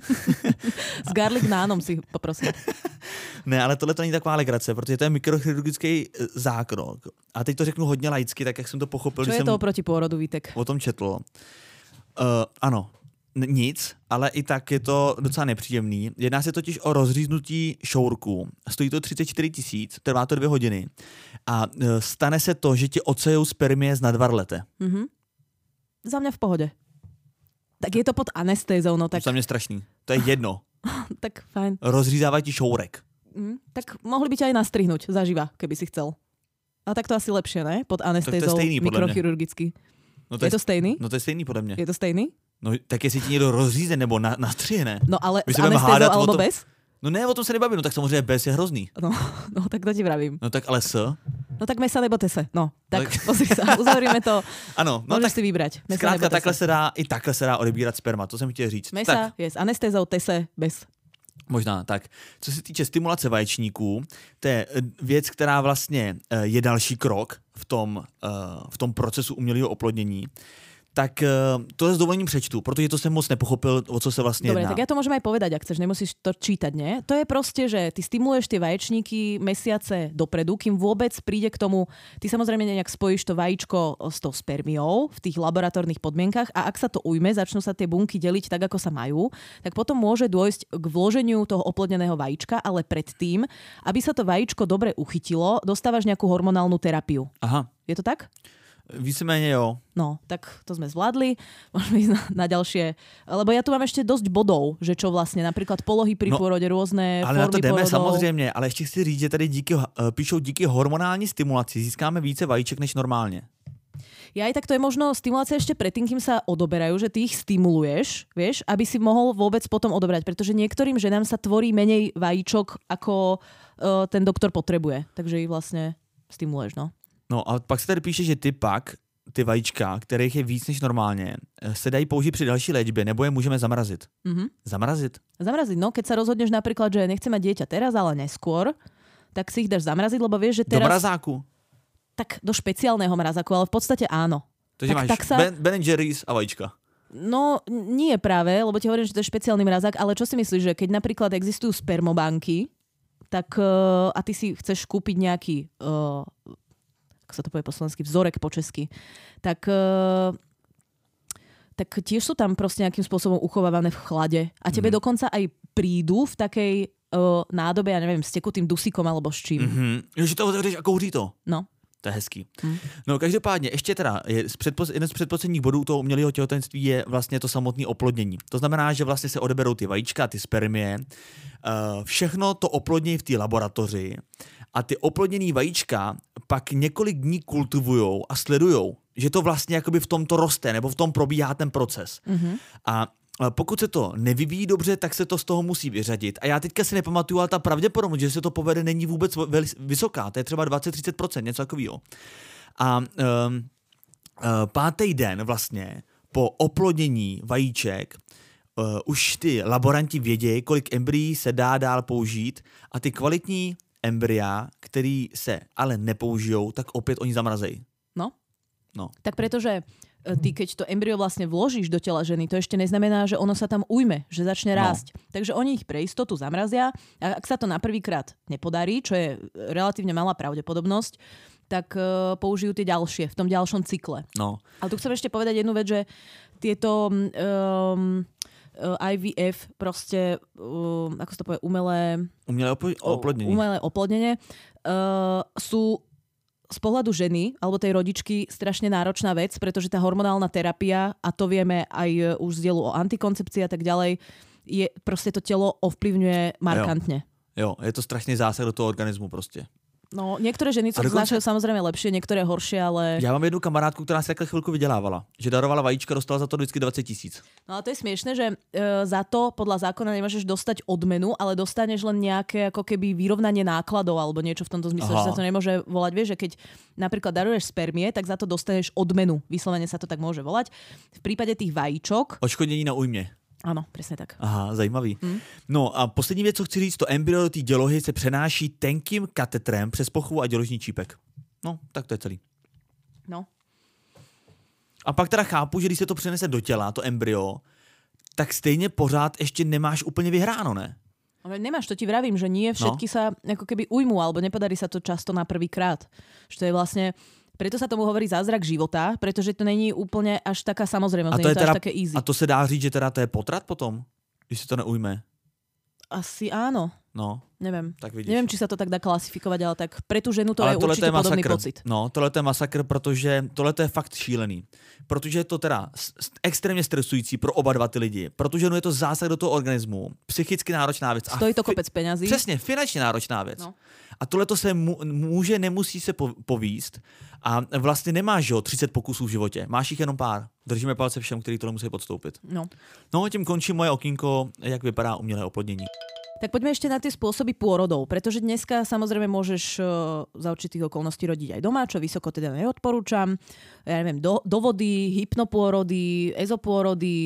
S garlic nánom si poprosím. Ne, ale tohle to není taková legrace, protože to je mikrochirurgický zákrok. A teď to řeknu hodně laicky, tak jak jsem to pochopil. Co je to oproti pôrodu, Vítek? O tom četl. Uh, ano, nic, ale i tak je to docela nepříjemný. Jedná se totiž o rozříznutí šourku. Stojí to třicet čtyři tisíc, trvá to dvě hodiny. A stane se to, že ti odsejou spermie z nadvarlete. Mm-hmm. Za mě v pohodě. Tak je to pod anestézou, no tak... To je mě strašný. To je jedno. Tak fajn. Rozřízávají ti šourek. Mm, tak mohli by ťa aj nastrihnúť zaživa, keby si chcel. A tak to asi lepšie, ne? Pod anestézou mikrochirurgicky. No to je, je to stejný? No to je stejný podle mě. Je to stejný? No tak jestli ti někdo rozříze nebo na, nastřihne. No ale s anestézou alebo tom, bez? No ne, o tom se nebavím, no tak samozřejmě bez je hrozný. No, no tak to ti vravím. No tak ale s? No tak mesa nebo tese, no. Tak, tak... pozri sa, uzavřeme to. Ano, no môžeš tak si vybrať. Mesa zkrátka nebo takhle se dá, i takhle se dá odebírat sperma, to jsem chtěl říct. Mesa tak. je s anestézou, tese bez. Možná, tak. Co se týče stimulace vaječníků, to je věc, která vlastně je další krok v tom, v tom procesu umělého oplodnění. Tak to s dovolením přečtu, protože to jsem moc nepochopil, o co se vlastně Dobre, jedná. tak ja to môžem aj povedať, ak chceš, nemusíš to čítať, nie? To je proste, že ty stimuluješ tie vaječníky mesiace dopredu, kým vôbec príde k tomu, ty samozrejme nejak spojíš to vajíčko s tou spermiou v tých laboratórnych podmienkach a ak sa to ujme, začnú sa tie bunky deliť tak, ako sa majú, tak potom môže dôjsť k vloženiu toho oplodneného vajíčka, ale predtým, aby sa to vajíčko dobre uchytilo, dostávaš nejakú hormonálnu terapiu. Aha. Je to tak? Víceméně jo. No, tak to sme zvládli. Môžeme ísť na, na ďalšie. Lebo ja tu mám ešte dosť bodov, že čo vlastne, napríklad polohy pri no, pôrode, rôzne ale formy na to jdeme porodov. samozřejmě, ale ještě chci říct, že tady díky, píšou díky hormonální stimulaci získáme více vajíček než normálně. Ja aj tak to je možno stimulácia ešte predtým, kým sa odoberajú, že ty ich stimuluješ, vieš, aby si mohol vôbec potom odobrať, pretože niektorým ženám sa tvorí menej vajíčok, ako uh, ten doktor potrebuje. Takže ich vlastne stimuluješ, no. No a pak se tady píše, že ty pak, ty vajíčka, kterých je víc než normálně, se dají použít při další léčbě, nebo je můžeme zamrazit. Mm-hmm. Zamrazit? Zamraziť, no. Keď sa rozhodneš napríklad, že nechce mať dieťa teraz, ale neskôr, tak si ich dáš zamraziť, lebo vieš, že teraz... Do mrazáku? Tak do špeciálneho mrazáku, ale v podstate áno. Takže tak, máš tak sa... Ben, Ben and Jerry's a vajíčka. No, nie práve, lebo ti hovorím, že to je špeciálny mrazák, ale čo si myslíš, že keď napríklad existujú spermobanky, tak uh, a ty si chceš kúpiť nejaký... Uh, ako sa to povie po slovensky, vzorek po česky, tak, uh, tak tiež sú tam proste nejakým spôsobom uchovávané v chlade. A tebe mm. dokonca aj prídu v takej uh, nádobe, ja neviem, s tekutým dusíkom alebo s čím. Mm-hmm. Že to otevřeš a kouří to. No. To je hezký. Mm. No každopádně, ještě teda, je z předpos, jeden z předposledních bodů toho umělého těhotenství je vlastně to samotné oplodnění. To znamená, že vlastně se odeberou ty vajíčka, ty spermie, uh, všechno to oplodnějí v té laboratoři a ty oplodněný vajíčka pak několik dní kultivujou a sledujou, že to vlastně jakoby v tom to roste, nebo v tom probíhá ten proces. Mm-hmm. A pokud se to nevyvíjí dobře, tak se to z toho musí vyřadit. A já teďka si nepamatuju, ale ta pravděpodobnost, že se to povede, není vůbec vysoká. To je třeba dvacet až třicet procent, něco takového. A um, uh, pátý den vlastně po oplodnění vajíček uh, už ty laboranti vědějí, kolik embryí se dá dál použít a ty kvalitní embrya, který se ale nepoužijou, tak opět oni zamrazejí. No. No. Tak pretože ty, keď to embryo vlastne vložíš do tela ženy, to ešte neznamená, že ono sa tam ujme, že začne rásť. No. Takže oni ich pre istotu zamrazia a ak sa to na prvýkrát nepodarí, čo je relatívne malá pravdepodobnosť, tak uh, použijú tie ďalšie v tom ďalšom cykle. No. Ale tu chcem ešte povedať jednu vec, že tieto um, I V F proste, uh, ako sa to povie, umelé... Umelé oplodnenie. Umelé oplodnenie uh, sú z pohľadu ženy alebo tej rodičky strašne náročná vec, pretože tá hormonálna terapia, a to vieme aj už z dielu o antikoncepcii a tak ďalej, je proste to telo ovplyvňuje markantne. Jo, jo, je to strašný zásah do toho organismu prostě. No, niektoré ženy to dokonce... znášajú samozrejme lepšie, niektoré horšie, ale... Já mám jednu kamarádku, která se takhle chvilku vydělávala. Že darovala vajíčka, dostala za to vždycky dvacet tisíc. No ale to je smiešné, že e, za to podľa zákona nemôžeš dostať odmenu, ale dostaneš len nejaké ako keby vyrovnanie nákladov alebo niečo v tomto zmysle, že sa to nemôže volať. Vieš, že keď napríklad daruješ spermie, tak za to dostaneš odmenu. Vyslovene sa to tak môže volať. V prípade tých vajíčok... Odškodnění na újmě. Ano, přesně tak. Aha, zajímavý. Hmm. No a poslední věc, co chci říct, to embryo do té dělohy se přenáší tenkým katetrem přes pochvu a děložní čípek. No, tak to je celý. No. A pak teda chápu, že když se to přenese do těla, to embryo, tak stejně pořád ještě nemáš úplně vyhráno, ne? Ale nemáš, to ti vravím, že nie všetky no. sa ako keby ujmú, alebo nepodarí sa to často na prvý krát. Že to je vlastne... Preto sa tomu hovorí zázrak života, pretože to není úplne až taká samozrejmosť, nie je to teda, až také easy. A to se dá říct, že teda to je potrat potom, když se to neujme? Asi áno. No. Neviem. Tak vidíš. Neviem, či sa to tak dá klasifikovať, ale tak pre tú ženu to ale je určite je podobný masakr. pocit. No, tohle je masakr, protože tohle je fakt šílený. Protože je to teda extrémně stresující pro oba dva ty lidi. Protože no je to zásah do toho organismu, psychicky náročná věc. Stojí to kopec peňazí. Přesně, finančně náročná věc. No. A tohle to se může, nemusí se povíst. A vlastně nemáš, jo, třicet pokusů v životě. Máš jich jenom pár. Držíme palce všem, kteří to musí podstoupit. No. No, tím končí moje okýnko, jak vypadá umělé oplodnění. Tak poďme ešte na tie spôsoby pôrodov, pretože dneska samozrejme môžeš uh, za určitých okolností rodiť aj doma, čo vysoko teda neodporúčam. Ja neviem, do, do vody, hypnopôrody, ezopôrody,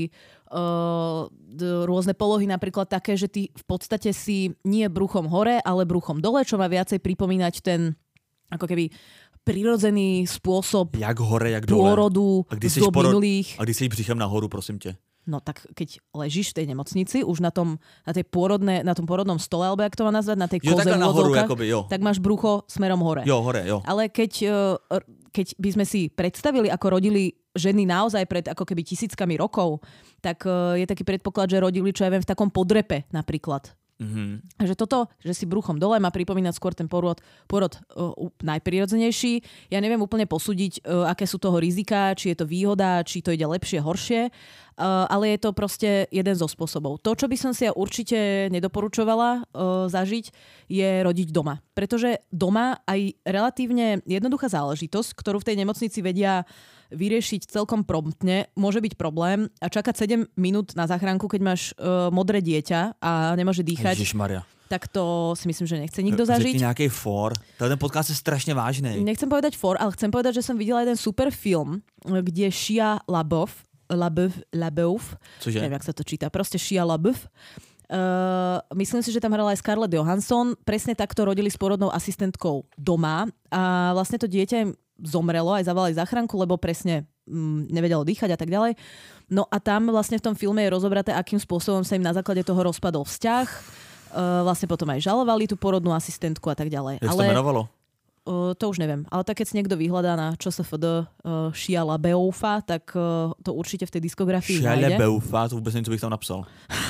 Uh, rôzne polohy, napríklad také, že ty v podstate si nie bruchom hore, ale bruchom dole, čo má viacej pripomínať ten ako keby prirodzený spôsob jak hore, jak dole. Pôrodu z dob minulých. A když jsi břichem nahoru, prosím tě? No tak keď ležíš v tej nemocnici, už na tom, na tej pôrodné, na tom pôrodnom stole, alebo jak to má nazvať, na tej koze v úvodzovkách, tak máš brucho smerom hore. Jo, hore, jo. Ale keď, keď by sme si predstavili, ako rodili ženy naozaj pred ako keby tisíckami rokov, tak je taký predpoklad, že rodili, čo ja viem, v takom podrepe napríklad. Mm-hmm. Že toto, že si bruchom dole má pripomínať skôr ten pôrod, pôrod uh, najprirodzenejší. Ja neviem úplne posúdiť, uh, aké sú toho rizika, či je to výhoda, či to ide lepšie, horšie, uh, ale je to proste jeden zo spôsobov. To, čo by som si ja určite nedoporučovala uh, zažiť, je rodiť doma. Pretože doma aj relatívne jednoduchá záležitosť, ktorú v tej nemocnici vedia vyriešiť celkom promptne, môže byť problém a čakať sedem minút na záchranku, keď máš uh, modré dieťa a nemôže dýchať. Ježišmaria. Tak to si myslím, že nechce nikto zažiť. Řekni nejaký for. Ten podcast je strašne vážný. Nechcem povedať for, ale chcem povedať, že som videla jeden super film, kde Shia LaBeouf, LaBeouf, LaBeouf, Cože? Neviem, jak sa to číta, proste Shia LaBeouf. Uh, myslím si, že tam hrala aj Scarlett Johansson. Presne takto rodili s porodnou asistentkou doma a vlastne to dieťa im zomrelo, aj zavolali záchranku, lebo presne mm, nevedelo dýchať a tak ďalej. No a tam vlastne v tom filme je rozobraté, akým spôsobom sa im na základe toho rozpadol vzťah. Uh, vlastne potom aj žalovali tú porodnú asistentku a tak ďalej. Jak ale, to menovalo? Uh, to už neviem. Ale tak keď si niekto vyhľadá na ČSFD uh, Shia LaBeoufa, tak uh, to určite v tej diskografii Shia nájde. Shia LaBeoufa, to vôbec neviem, co bych tam napsal.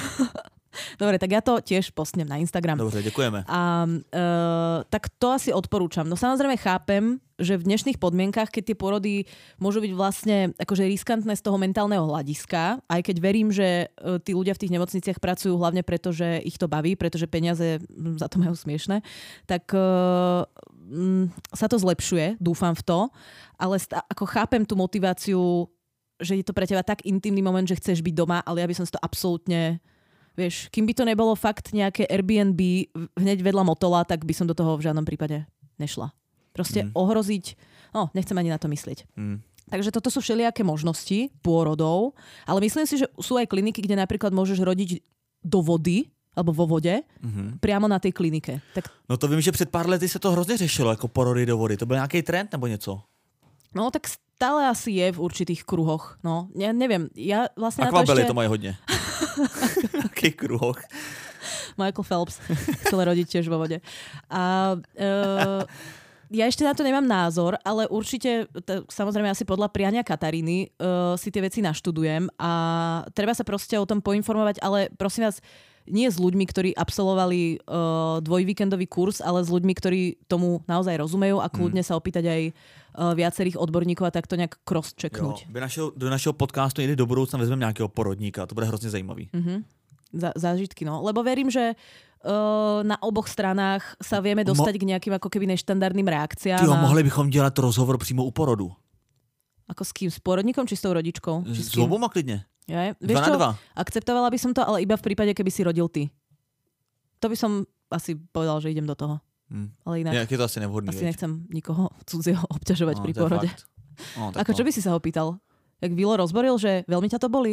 Dobre, tak ja to tiež postnem na Instagram. Dobre, ďakujeme. A, uh, tak to asi odporúčam. No samozrejme chápem, že v dnešných podmienkach, keď tie porody môžu byť vlastne akože riskantné z toho mentálneho hľadiska, aj keď verím, že uh, tí ľudia v tých nemocniciach pracujú hlavne preto, že ich to baví, pretože peniaze za to majú smiešné, tak uh, um, sa to zlepšuje, dúfam v to, ale st- ako chápem tú motiváciu, že je to pre teba tak intimný moment, že chceš byť doma, ale ja by som si to absolútne... Vieš, kým by to nebolo fakt nejaké Airbnb hneď vedľa Motola, tak by som do toho v žiadnom prípade nešla. Proste mm. ohroziť, no nechcem ani na to myslieť. Mm. Takže toto sú všelijaké možnosti pôrodov, ale myslím si, že sú aj kliniky, kde napríklad môžeš rodiť do vody, alebo vo vode, mm-hmm. priamo na tej klinike. Tak... No to vím, že před pár lety se to hrozně řešilo, jako porody do vody. To byl nějaký trend nebo něco? No tak stále asi je v určitých kruhoch. No, ja neviem. Ja vlastne Akvabely na to ešte... to mají hodně. V takých kruhoch. Michael Phelps chcel rodiť tiež vo vode. A uh, ja ešte na to nemám názor, ale určite, t- samozrejme asi podľa priania Kataríny uh, si tie veci naštudujem a treba sa proste o tom poinformovať, ale prosím vás, nie s ľuďmi, ktorí absolvovali uh, dvojvíkendový kurz, ale s ľuďmi, ktorí tomu naozaj rozumejú a kľudne mm. sa opýtať aj uh, viacerých odborníkov a takto nejak cross-checknúť. Jo, našeho, do našeho podcastu někdy do budoucna vezmeme nějakého porodníka, to bude hrozně zajímavý. Mm-hmm. Za, zážitky, no. Lebo verím, že uh, na oboch stranách sa vieme dostať Mo- k nejakým ako keby neštandardným reakciám. Tyjo, a... mohli bychom dělat rozhovor přímo u porodu. Ako s kým? S porodníkom či s tou rodičkou? Či s oboma klidne. Ja, vieš dva čo? na dva. Akceptovala by som to, ale iba v prípade, keby si rodil ty. To by som asi povedal, že idem do toho. Hmm. Ale inak... Jak je to asi nevhodný. Asi veď. nechcem nikoho cudzieho obťažovať no, pri porode. No, Ako no. čo by si sa ho pýtal? Jak Vilo rozboril, že veľmi ťa to bolí?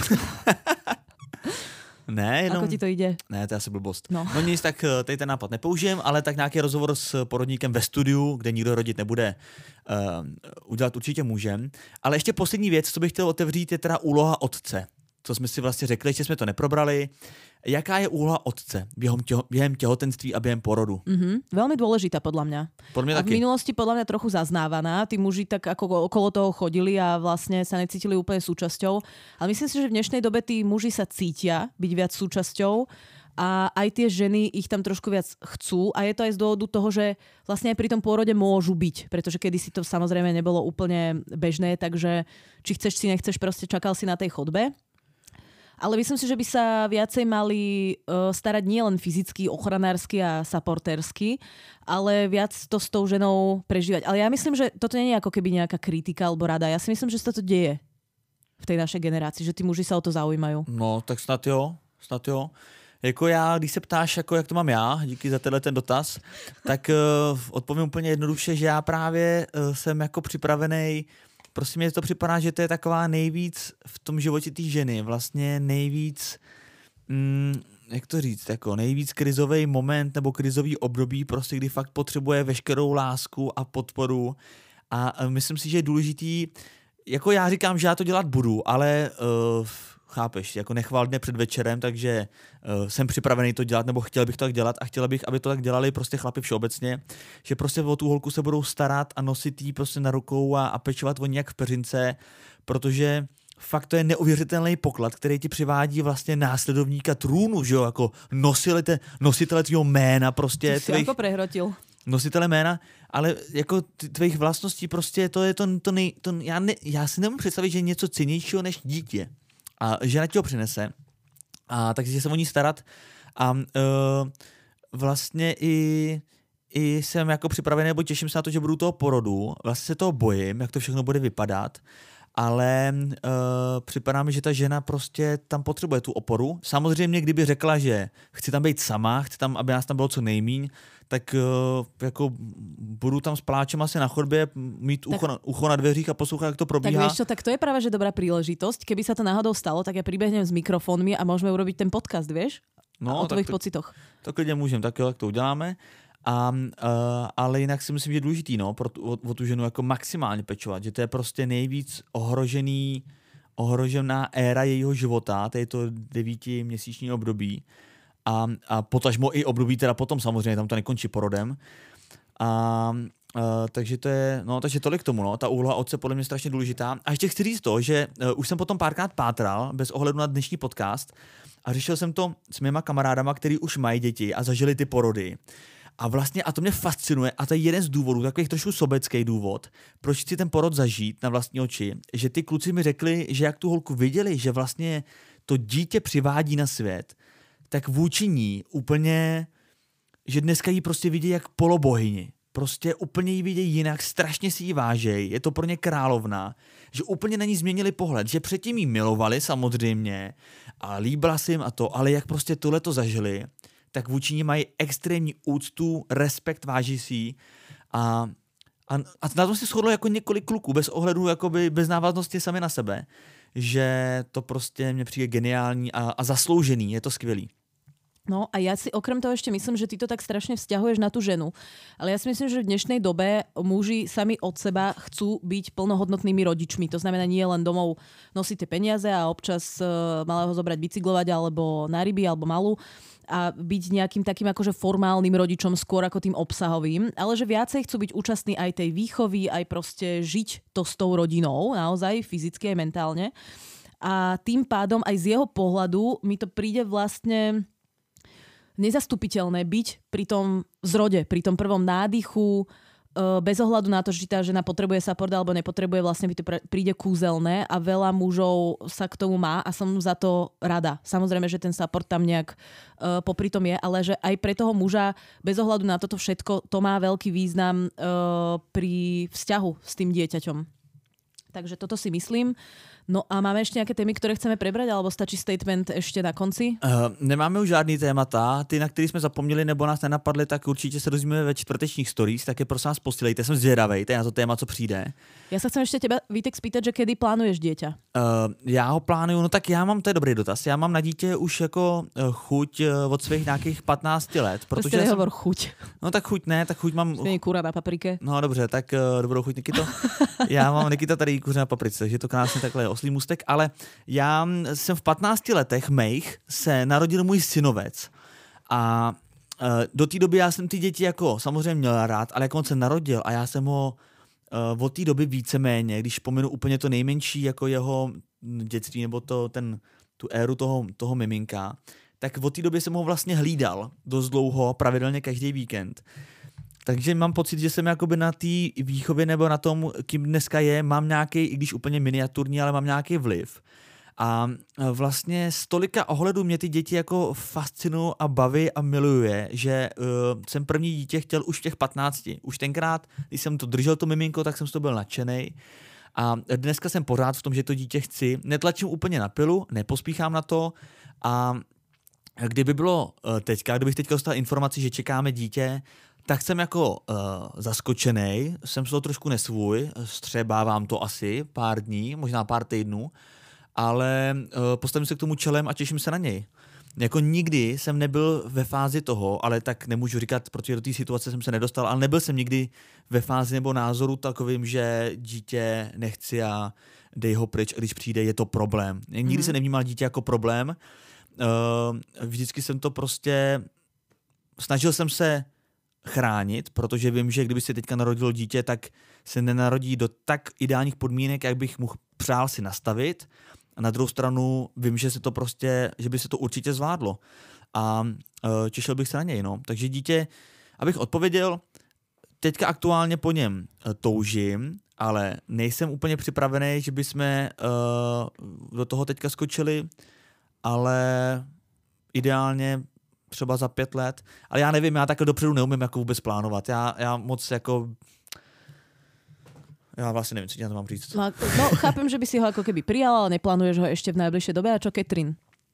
Ne, jenom... Ako ti to ide? Ne, to je asi blbost. No. no nic, tak tady ten nápad nepoužijem, ale tak nějaký rozhovor s porodníkem ve studiu, kde nikdo rodit nebude, uh, udělat určitě můžem. Ale ještě poslední věc, co bych chtěl otevřít, je teda úloha otce. Co jsme si vlastně řekli, že jsme to neprobrali. Jaká je úloha otce během, těho, během těhotenství a během porodu? Mm-hmm. Veľmi dôležitá podľa mňa. Podľa mňa a v minulosti podľa mňa trochu zaznávaná. Tí muži tak ako okolo toho chodili a vlastne sa necítili úplne súčasťou. Ale myslím si, že v dnešnej dobe tí muži sa cítia byť viac súčasťou a aj tie ženy ich tam trošku viac chcú a je to aj z dôvodu toho, že vlastne aj pri tom pôrode môžu byť, pretože kedysi to samozrejme nebolo úplne bežné, takže či chceš, si nechceš, proste čakal si na tej chodbe. Ale myslím si, že by sa viacej mali uh, starať nielen fyzicky, ochranársky a supportérsky, ale viac to s tou ženou prežívať. Ale ja myslím, že toto nie je ako keby nejaká kritika alebo rada. Ja si myslím, že sa to deje v tej našej generácii, že tí muži sa o to zaujímajú. No, tak snad jo, snad jo. Jako já, když se ptáš, jako jak to mám já, díky za tenhle ten dotaz, tak uh, odpovím úplně jednoduše, že já právě uh, jsem jako připravený prostě mě to připadá, že to je taková nejvíc v tom životě té ženy, vlastně nejvíc, mm, jak to říct, jako nejvíc krizový moment nebo krizový období, prostě kdy fakt potřebuje veškerou lásku a podporu a myslím si, že je důležitý, jako já říkám, že já to dělat budu, ale uh, chápeš, jako nechval dne před večerem, takže uh, jsem připravený to dělat, nebo chtěl bych to tak dělat a chtěla bych, aby to tak dělali prostě chlapi všeobecně, že prostě o tu holku se budou starat a nosit jí prostě na rukou a, a pečovat o ní jak v peřince, protože fakt to je neuvěřitelný poklad, který ti přivádí vlastně následovníka trůnu, že jo, jako nositele, nositele tvýho jména prostě. Ty jsi tvých, jako prehrotil. Nositele jména, ale jako tvých vlastností prostě to je to, to, nej, to já, ne, já si nemůžu představit, že je něco cennějšího než dítě. A žena ti ho přinese a takže se o ní starat a uh, vlastně i, i jsem jako připravený, nebo těším se na to, že budu toho porodu, vlastně se toho bojím, jak to všechno bude vypadat, ale uh, připadá mi, že ta žena prostě tam potřebuje tu oporu. Samozřejmě, kdyby řekla, že chci tam být sama, chci tam, aby nás tam bylo co nejmíň, tak uh, jako budu tam s pláčem asi na chodbě, mít ucho na, ucho na dveřích a poslouchat, jak to probíhá. Tak vieš čo, tak to je práve, že dobrá príležitosť. Keby sa to náhodou stalo, tak ja pribehnem s mikrofónmi a môžeme urobiť ten podcast, vieš? No, o tvojich to, pocitoch. To klidně můžeme, tak jo, tak to uděláme. A, uh, ale jinak si myslím, že je důležitý, no, pro tu, o, o tu ženu jako maximálně pečovat, že to je prostě nejvíc ohrožený, ohrožená éra jejího života, to je to devítiměsíční období a, a potažmo i období teda potom samozřejmě, tam to nekončí porodem. A uh, takže to je, no, takže tolik k tomu, no, ta úloha otce podle mě strašně důležitá. A ještě chci říct to, že uh, už jsem potom párkrát pátral, bez ohledu na dnešní podcast, a řešil jsem to s mýma kamarádama, který už mají děti a zažili ty porody. A vlastně, a to mě fascinuje, a to je jeden z důvodů, takových trošku sobecký důvod, proč chci ten porod zažít na vlastní oči, že ty kluci mi řekli, že jak tu holku viděli, že vlastně to dítě přivádí na svět, tak vůči ní úplně, že dneska jí prostě vidí jak polobohyni. Prostě úplně jí vidějí jinak, strašně si ji vážej, je to pro ně královna, že úplně na ní změnili pohled, že předtím jí milovali samozřejmě a líbila se jim a to, ale jak prostě tohleto zažili, tak vůči ní mají extrémní úctu, respekt, váží si ji a, a, a na tom si shodlo jako několik kluků, bez ohledu, jakoby bez návaznosti sami na sebe, že to prostě mně přijde geniální a, a zasloužený, je to skvělý. No a ja si okrem toho ešte myslím, že ty to tak strašne vzťahuješ na tú ženu. Ale ja si myslím, že v dnešnej dobe muži sami od seba chcú byť plnohodnotnými rodičmi. To znamená nie len domov nosiť tie peniaze a občas uh, malého zobrať bicyklovať alebo na ryby alebo malú a byť nejakým takým akože formálnym rodičom skôr ako tým obsahovým, ale že viacej chcú byť účastní aj tej výchovy, aj proste žiť to s tou rodinou, naozaj fyzicky aj mentálne. A tým pádom aj z jeho pohľadu mi to príde vlastne nezastupiteľné byť pri tom zrode, pri tom prvom nádychu, bez ohľadu na to, že tá žena potrebuje support alebo nepotrebuje, vlastne by to príde kúzelné a veľa mužov sa k tomu má a som za to rada. Samozrejme, že ten support tam nejak uh, popri tom je, ale že aj pre toho muža, bez ohľadu na toto všetko, to má veľký význam uh, pri vzťahu s tým dieťaťom. Takže toto si myslím. No a máme ještě nějaké témy, které chceme prebrať, alebo stačí statement ještě na konci? Uh, nemáme už žádný témata, ty, na který jsme zapomněli nebo nás nenapadly, tak určitě se dozvíme ve čtvrtečních stories, tak je prosím vás posílejte, jsem zvědavej, to je na to téma, co přijde. Já se chcem ještě teba, Vítek, spýtať, že kedy plánuješ dieťa? Uh, já ho plánuju, no tak já mám, to je dobrý dotaz, já mám na dítě už jako uh, chuť uh, od svých nějakých patnácti let. Protože prostě nehovor jsem... chuť. No tak chuť ne, tak chuť mám... Není kura na paprike. No dobře, tak uh, dobrou chuť, Nikito. Já mám, Nikita, tady kuře na paprice, takže je to krásně takhle oslý můstek, ale já jsem v patnácti letech mých se narodil můj synovec a uh, do té doby já jsem ty děti jako samozřejmě měl rád, ale jak on se narodil a já jsem ho uh, od té doby víceméně, když pominu úplně to nejmenší jako jeho dětství nebo to, ten, tu éru toho, toho miminka, tak od té doby jsem ho vlastně hlídal dost dlouho, pravidelně každý víkend. Takže mám pocit, že jsem jakoby na té výchově nebo na tom, kým dneska je, mám nějaký, i když úplně miniaturní, ale mám nějaký vliv. A vlastně z tolika ohledů mě ty děti jako fascinují a baví a miluje, že uh, jsem první dítě chtěl už v těch patnácti. Už tenkrát, když jsem to držel to miminko, tak jsem z toho byl nadšenej. A dneska jsem pořád v tom, že to dítě chci. Netlačím úplně na pilu, nepospíchám na to a kdyby bylo teďka, kdybych teďka dostal informaci, že čekáme dítě, tak jsem jako uh, zaskočenej, jsem z toho trošku nesvůj, střebávám to asi pár dní, možná pár týdnů, ale uh, postavím se k tomu čelem a těším se na něj. Jako nikdy jsem nebyl ve fázi toho, ale tak nemůžu říkat, protože do té situace jsem se nedostal, ale nebyl jsem nikdy ve fázi nebo názoru takovým, že dítě nechci a dej ho pryč, a když přijde, je to problém. Nikdy mm. jsem nevnímal dítě jako problém. Uh, vždycky jsem to prostě... Snažil jsem se chránit, protože vím, že kdyby se teďka narodilo dítě, tak se nenarodí do tak ideálních podmínek, jak bych mu přál si nastavit. A na druhou stranu vím, že se to prostě, že by se to určitě zvládlo. A uh, těšil bych se na něj, no. Takže dítě, abych odpověděl, teďka aktuálně po něm uh, toužím, ale nejsem úplně připravený, že bychom uh, do toho teďka skočili, ale ideálně třeba za pět let. Ale já nevím, já takhle dopředu neumím jako vůbec plánovat. Já, já moc jako... Já vlastně nevím, co ti na to mám říct. No, no chápem, že by si ho jako keby prijal, ale neplánuješ ho ještě v najbližšej době. A čo Catherine?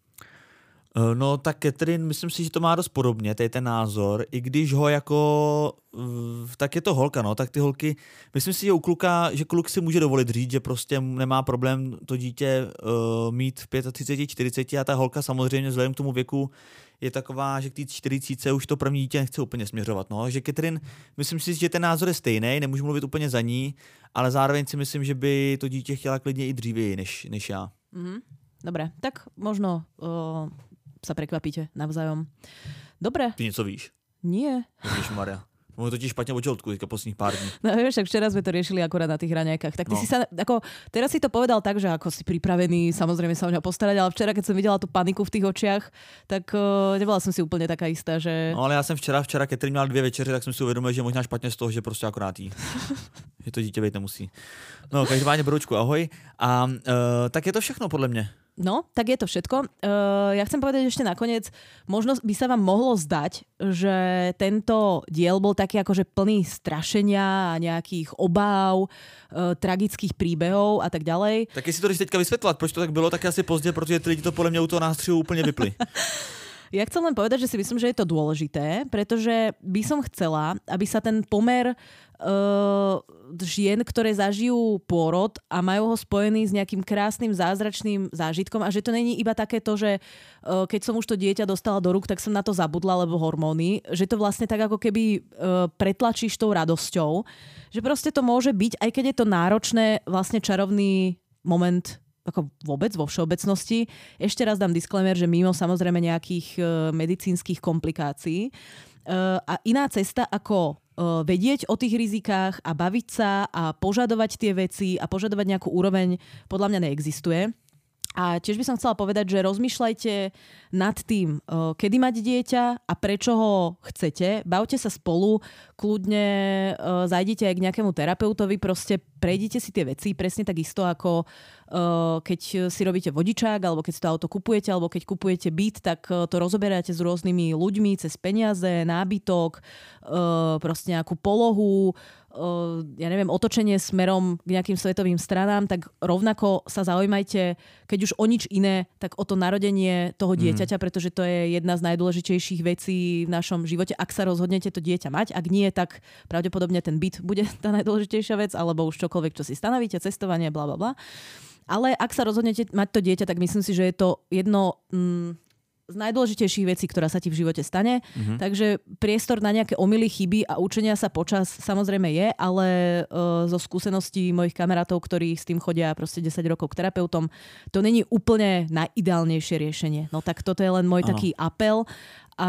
No tak Catherine, myslím si, že to má dost podobně, to je ten názor, i když ho jako, tak je to holka, no, tak ty holky, myslím si, že u kluka, že kluk si může dovolit říct, že prostě nemá problém to dítě uh, mít v třicet pět, čtyřicet a ta holka samozřejmě vzhledem k tomu věku je taková, že k té čtyřicítce už to první dítě nechce úplně směřovat, no, že Catherine, myslím si, že ten názor je stejný, nemůžu mluvit úplně za ní, ale zároveň si myslím, že by to dítě chtěla klidně i dřívěji, než, než já. Mm-hmm. Dobre, tak možno... Uh... sa prekvapíte navzájom. Dobre. Ty něco víš? Nie. Ježišmaria. Môžu totiž špatne od žalúdku teďka posledných pár dní. No vieš, tak včera sme to riešili akorát na tých raňajkách. Tak ty no. si sa, ako, teraz si to povedal tak, že ako si pripravený, samozrejme sa o ňa postarať, ale včera, keď som videla tú paniku v tých očiach, tak uh, nebola som si úplne taká istá, že... No ale ja som včera, včera, keď měla dvě večeře, tak som si uvedomil, že možná špatně z toho, že prostě akorát jí. Že to dítě být nemusí. No, každopádně Broučku, ahoj. A uh, tak je to všechno podle mě. No, tak je to všetko. Uh, ja chcem povedať ešte nakoniec, možno by sa vám mohlo zdať, že tento diel bol taký akože plný strašenia a nejakých obáv, uh, tragických príbehov a tak ďalej. Tak jestli to jdeš teďka vysvetľovať, proč to tak bylo, tak asi pozdě, protože ty lidi to podľa mňa u toho nástřihu úplne vypli. Ja chcem len povedať, že si myslím, že je to dôležité, pretože by som chcela, aby sa ten pomer uh, žien, ktoré zažijú pôrod a majú ho spojený s nejakým krásnym, zázračným zážitkom a že to není iba také to, že uh, keď som už to dieťa dostala do rúk, tak som na to zabudla, lebo hormóny, že to vlastne tak ako keby uh, pretlačíš tou radosťou, že proste to môže byť, aj keď je to náročné, vlastne čarovný moment ako vôbec vo všeobecnosti. Ešte raz dám disclaimer, že mimo samozrejme nejakých uh, medicínskych komplikácií. Uh, a iná cesta, ako uh, vedieť o tých rizikách a baviť sa a požadovať tie veci a požadovať nejakú úroveň, podľa mňa neexistuje. A tiež by som chcela povedať, že rozmýšľajte nad tým, uh, kedy mať dieťa a prečo ho chcete. Bavte sa spolu, kľudne uh, zajdite aj k nejakému terapeutovi, proste prejdite si tie veci, presne tak isto ako uh, keď si robíte vodičák, alebo keď si to auto kupujete, alebo keď kupujete byt, tak uh, to rozoberáte s rôznymi ľuďmi cez peniaze, nábytok, uh, proste nejakú polohu, Uh, ja neviem, otočenie smerom k nejakým svetovým stranám, tak rovnako sa zaujímajte, keď už o nič iné, tak o to narodenie toho dieťaťa, mm. pretože to je jedna z najdôležitejších vecí v našom živote. Ak sa rozhodnete to dieťa mať, ak nie, tak pravdepodobne ten byt bude tá najdôležitejšia vec, alebo už čokoľvek, čo si stanovíte, cestovanie, bla bla bla. Ale ak sa rozhodnete mať to dieťa, tak myslím si, že je to jedno... Mm, z najdôležitejších vecí, ktorá sa ti v živote stane. Mm-hmm. Takže priestor na nejaké omyly, chyby a učenia sa počas samozrejme je, ale uh, zo skúseností mojich kamarátov, ktorí s tým chodia proste desať rokov k terapeutom, to není úplne najideálnejšie riešenie. No tak toto je len môj ano. taký apel a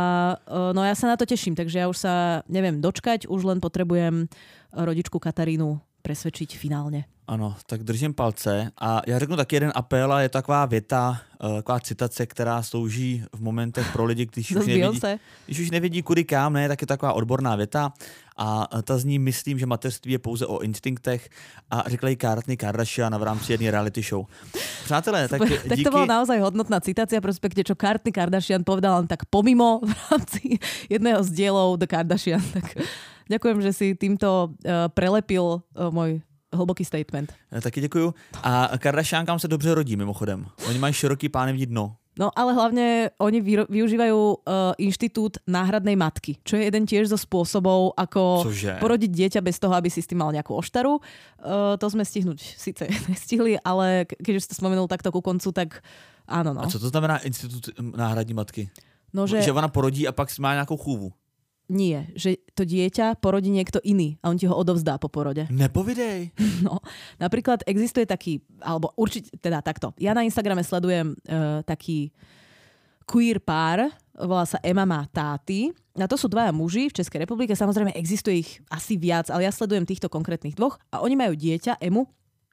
uh, no ja sa na to teším, takže ja už sa neviem dočkať, už len potrebujem rodičku Katarínu presvedčiť finálne. Ano, tak držím palce a já řeknu taky jeden apel a je to taková věta, taková citace, která slouží v momentech pro lidi, když už, nevidí, když už nevidí kudy kam, ne, tak je taková odborná věta a ta zní, myslím, že mateřství je pouze o instinktech a řekla ji Kourtney Kardashian v rámci jedné reality show. Přátelé, tak díky... Tak to bola naozaj hodnotná citácia, prospekte, čo Kourtney Kardashian povedala len tak pomimo v rámci jedného z dielov The Kardashian. Tak ďakujem, že si týmto uh, prelepil uh, môj hlboký statement. Taky děkuju. A Kardashiankám se dobře rodí, mimochodem. Oni mají široký pánevní dno. No ale hlavne oni vy, využívajú uh, inštitút náhradnej matky, čo je jeden tiež zo spôsobov, ako Cože? porodiť dieťa bez toho, aby si s tým mal nejakú oštaru. Uh, to sme stihnúť síce nestihli, ale keď už ste spomenul takto ku koncu, tak áno. No. A co to znamená institut náhradní matky? No, že... že ona porodí a pak má nejakou chůvu. Nie, že to dieťa porodí niekto iný a on ti ho odovzdá po porode. Nepovidej. No, napríklad existuje taký, alebo určite, teda takto. Ja na Instagrame sledujem uh, taký queer pár, volá sa Emma má táty. A to sú dvaja muži v Českej republike, samozrejme existuje ich asi viac, ale ja sledujem týchto konkrétnych dvoch a oni majú dieťa, Emu,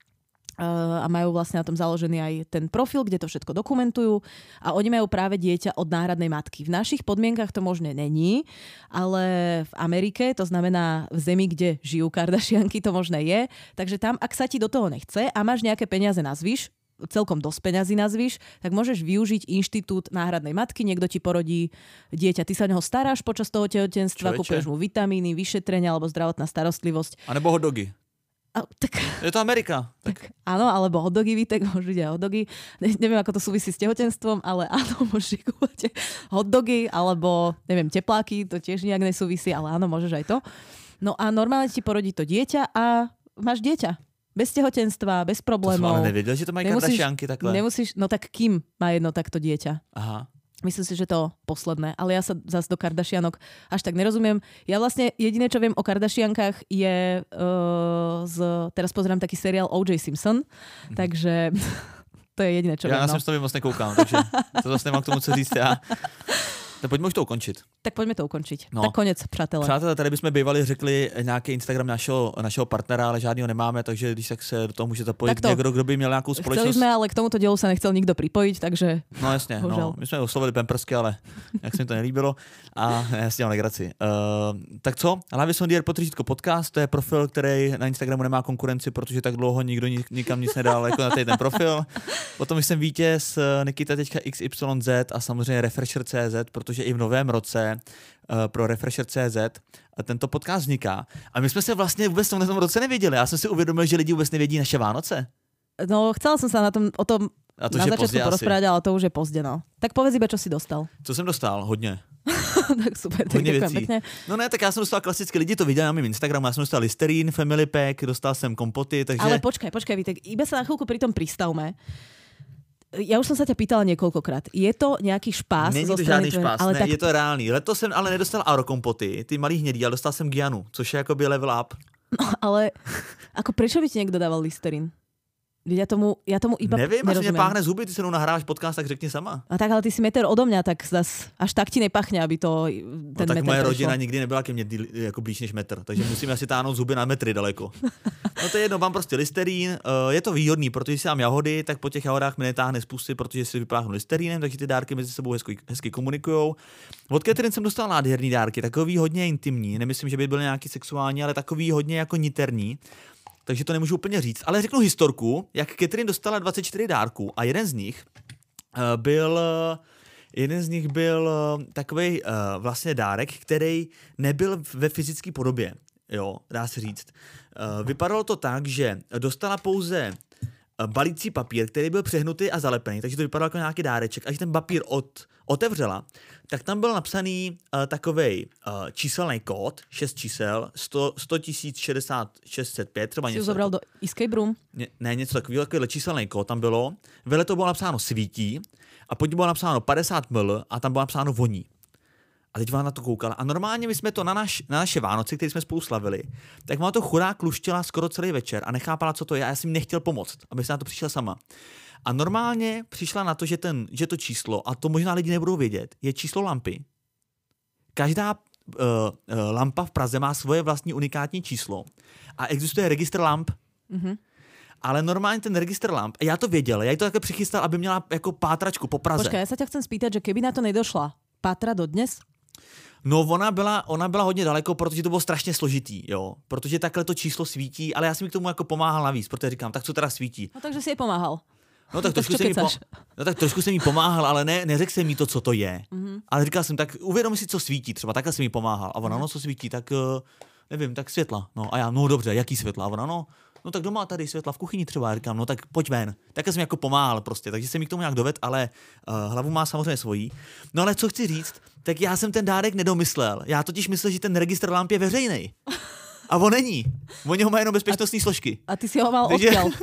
a majú vlastne na tom založený aj ten profil, kde to všetko dokumentujú a oni majú práve dieťa od náhradnej matky. V našich podmienkach to možné není, ale v Amerike, to znamená v zemi, kde žijú Kardashianky, to možné je. Takže tam, ak sa ti do toho nechce a máš nejaké peniaze nazvyš, celkom dosť peňazí nazvyš, tak môžeš využiť inštitút náhradnej matky, niekto ti porodí dieťa, ty sa o neho staráš počas toho tehotenstva, kúpeš mu vitamíny, vyšetrenia alebo zdravotná starostlivosť. A nebo hotdogy. A, tak, je to Amerika. Tak. tak áno, alebo hotdogy, tak môžu ísť aj hotdogy. Ne, neviem, ako to súvisí s tehotenstvom, ale áno, môžeš kúpať hotdogy, alebo neviem, tepláky, to tiež nejak nesúvisí, ale áno, môžeš aj to. No a normálne ti porodí to dieťa a máš dieťa. Bez tehotenstva, bez problémov. To som ale nevedel, že to mají Kardashianky takhle. Nemusíš, no tak kým má jedno takto dieťa? Aha. Myslím si, že to posledné, ale ja sa zase do Kardashianok až tak nerozumiem. Ja vlastne jediné, čo viem o Kardashiankách je uh, z, teraz pozerám taký seriál ó džej Simpson, mm. takže to je jediné, čo ja viem. Ja na no. to moc nekoukám, takže to zase nemám k tomu co říct já. Tak pojďme už to ukončit. Tak pojďme to ukončit. No. Tak konec, přátelé. Přátelé, tady bychom bývali řekli nějaký Instagram našeho, našeho partnera, ale žádného nemáme, takže když tak se do toho může zapojit to, někdo, kdo by měl nějakou společnost. Chceli jsme, ale k tomuto dielu se nechcel nikdo připojit, takže... No jasně, no, my jsme oslovili Pampersky, ale jak se mi to nelíbilo. A jasně, mám legraci. Uh, tak co? Hlavě jsem Dear Potržítko podcast, to je profil, který na Instagramu nemá konkurenci, protože tak dlouho nikdo nikam nic nedal jako na ten profil. Potom jsem vítěz Nikita X Y Z a samozřejmě Refresher tečka cé zet, protože i v novém roce uh, pro Refresher tečka cé zet a tento podcast vzniká. A my jsme se vlastně vůbec v tom roce nevěděli. Já jsem si uvědomil, že lidi vůbec nevědí naše Vánoce. No, chcela som sa na tom, o tom a to, na začiatku porozprávať, ale to už je pozdě, no. Tak povedz iba, čo si dostal. Co jsem dostal? Hodně. Tak super, tak děkujem pěkně. No ne, tak já jsem dostal klasicky, lidi to viděli na mém Instagramu, já jsem dostal Listerine, Family Pack, dostal jsem kompoty, takže... Ale počkaj, počkaj, Vítek, iba sa na chvíľku pri tom pristavme. Ja už som sa ťa pýtala niekoľkokrát. Je to nejaký špás? Není zo to strany žádný špás, ale ne, tak... je to reálný. Letos jsem ale nedostal aerokompoty, ty malý hnědý, ale dostal jsem Gianu, což je jakoby level up. No ale ako prečo by ti niekto dával Listerin? Ja tomu, ja tomu iba nevím, nerozumiem. Nevím, asi mě páchne zuby, ty se mnou nahráš podcast, tak řekni sama. A tak, ale ty si meter odo mňa, tak zas až tak ti nepachne, aby to ten no, tak meter moje prešlo. rodina nikdy nebyla ke mně jako blíž než metr, takže musím asi táhnout zuby na metry daleko. No to je jedno, mám prostě Listerín, je to výhodný, protože si mám jahody, tak po těch jahodách mi netáhne z pusy, protože si vypáchnu Listerínem, takže ty dárky mezi sebou hezky, hezky komunikujou. Od Catherine jsem dostal nádherný dárky, takový hodně intimní, nemyslím, že by byl nějaký sexuální, ale takový hodně jako niterní. Takže to nemůžu úplně říct. Ale řeknu historku, jak Catherine dostala dvacet čtyři dárků a jeden z nich uh, byl jeden z nich byl uh, takovej uh, vlastně dárek, který nebyl ve fyzické podobě. Jo, dá se říct. Uh, vypadalo to tak, že dostala pouze balící papír, který byl přehnutý a zalepený, takže to vypadalo jako nějaký dáreček. Až ten papír od, otevřela, tak tam byl napsaný uh, takovej uh, číselný kód, šest čísel, sto tisíc šedesát šest set pět, třeba si něco. Jsi zobral do escape room? Ne, ne něco takového, takovýhle číselný kód tam bylo. Vele to bylo napsáno svítí a pod ním bylo napsáno padesát mililitrů a tam bylo napsáno voní. A teď vám na to koukala. A normálně my jsme to na, naš, na naše Vánoce, které jsme spolu slavili, tak má to chudák luštila skoro celý večer a nechápala, co to je. A já jsem nechtěl pomoct, aby se na to přišla sama. A normálně přišla na to, že, ten, že to číslo, a to možná lidi nebudou vědět, je číslo lampy. Každá uh, uh, lampa v Praze má svoje vlastní unikátní číslo. A existuje registr lamp. Mm-hmm. Ale normálně ten registr lamp, já to věděl, já jí to také přichystal, aby měla jako pátračku po Praze. Počkej, já se tě chcem spýtať, že keby na to nedošla, pátra dodnes? No ona byla, ona byla hodně daleko, protože to bylo strašně složitý, jo. Protože takhle to číslo svítí, ale já jsem mi k tomu jako pomáhal navíc, protože říkám, tak co teda svítí. No takže si jej pomáhal. No tak, trošku jsem, po... no, tak trošku jsem jí pomáhal, ale ne, neřekl jsem jí to, co to je. Mm-hmm. Ale říkal jsem, tak uvědom si, co svítí, třeba takhle jsem jí pomáhal. A ona, mm-hmm. no co svítí, tak uh, nevím, tak světla. No a já, no dobře, jaký světla? A ona, no, no tak doma tady světla v kuchyni třeba, já říkám, no tak pojď ven. Tak jsem jako pomáhal prostě, takže jsem mi k tomu nějak doved, ale uh, hlavu má samozřejmě svojí. No ale co chci říct, tak já jsem ten dárek nedomyslel. Já totiž myslel, že ten registr lamp je veřejný. A on není. Oni ho mají jenom bezpečnostní složky. A ty si ho mal takže... odkiaľ?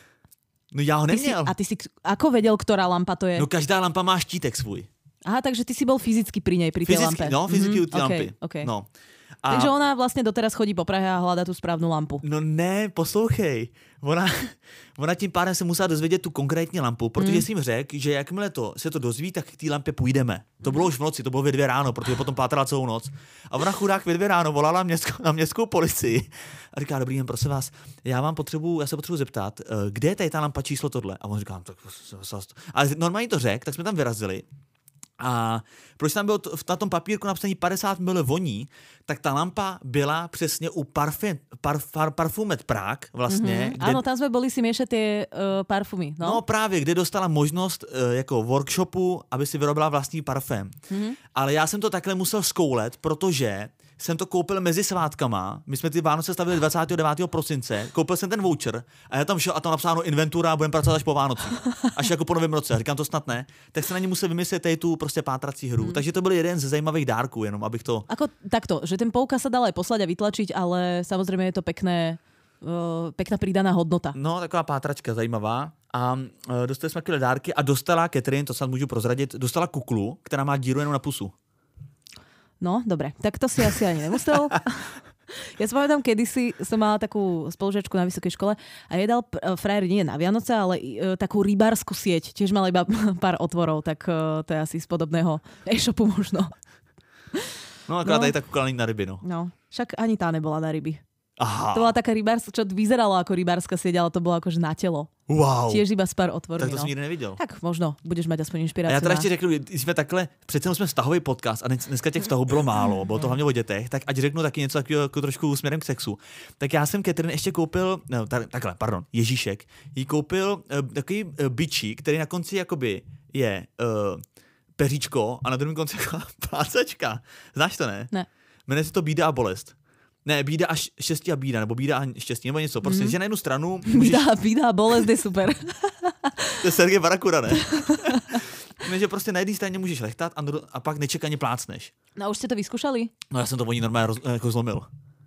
No já ho neměl. Ty si, a ty si ako vedel, ktorá lampa to je? No každá lampa má štítek svůj. Aha, takže ty si bol fyzicky pri nej, pri tej fyzicky, lampe. No, fyzicky mm-hmm, u tej okay, lampy. Okay. No. A... Takže ona vlastně doteraz chodí po Prahe a hľadá tú správnu lampu. No ne, poslouchej. Ona, ona tím pádem se musela dozvědět tu konkrétní lampu, protože mm. jsem řekl, že jakmile to, se to dozví, tak k té lampě půjdeme. To bylo už v noci, to bylo ve dvě ráno, protože potom pátrala celou noc. A ona chudák ve dvě ráno volala městskou, na městskou policii a říká, dobrý den, prosím vás, já vám potřebuji, já se potřebuji zeptat, kde je tady ta lampa číslo tohle? A on říká, tak... A normálně to řekl, tak jsme tam vyrazili. A proč tam bylo na tom papírku napsaný padesát mililitů voní, tak ta lampa byla přesně u parfum, parf, par, Parfumet Prague vlastně. Mm-hmm. Kde... Áno, tam sme boli si miešať tie uh, parfumy. No? no právě, kde dostala možnost uh, jako workshopu, aby si vyrobila vlastní parfém. Mm-hmm. Ale já jsem to takhle musel zkoulet, protože jsem to koupil mezi svátkama. My jsme ty Vánoce stavili dvacátého devátého prosince. Koupil jsem ten voucher a já tam šel a tam napsáno inventura a budeme pracovat až po Vánocích. Až jako po novém roce. A říkám, to snad ne. Tak se na ně musel vymyslet tady tu prostě pátrací hru. Hmm. Takže to byl jeden ze zajímavých dárků, jenom abych to... Ako takto, že ten poukaz sa dal aj poslať a vytlačiť, ale samozřejmě je to pekné, uh, pekná pridaná hodnota. No, taková pátračka zajímavá. A uh, dostali jsme takové dárky a dostala Catherine, to snad můžu prozradit, dostala kuklu, která má díru jenom na pusu. No, dobre, tak to si asi ani nemusel. Ja si pamätám, kedysi som mala takú spolužiačku na vysokej škole a jej dal frajer nie na Vianoce, ale e, takú rybárskú sieť. Tiež mala iba pár otvorov, tak e, to je asi z podobného e-shopu možno. No, akorát no. Aj tak kúkala na ryby, no. No, však ani tá nebola na ryby. Aha. To bola taká rybárska, čo vyzeralo ako rybárska sieť, ale to bolo akože na telo. Wow. Tiež iba s pár otvormi. Tak to no. jsem nikdy neviděl. Tak možno, budeš mať aspoň inšpiráciu. A já teda ještě řeknu, jsme takhle, přece jsme vztahový podcast a dneska těch vztahů bylo málo, bylo to hlavně o dětech, tak ať řeknu taky něco takového jako trošku směrem k sexu. Tak já jsem Catherine ještě koupil, no takhle, pardon, Ježíšek, jí koupil uh, takový uh, bičík, který na konci jakoby je uh, peříčko a na druhém konci jako plácačka. Znáš to, ne? Ne. Jmenuje se to Bída a bolest. Ne, bída a štěstí a bída, nebo bída a štěstí, nebo něco. Prostě, mm. že na jednu stranu... Můžeš... Bída, bída a bolest je super. To je Sergej Barakura, ne? Ne, že prostě na jedné straně můžeš lechtat a, a pak nečekaně plácneš. No a už jste to vyzkoušeli? No já jsem to voní normálně roz, jako zlomil.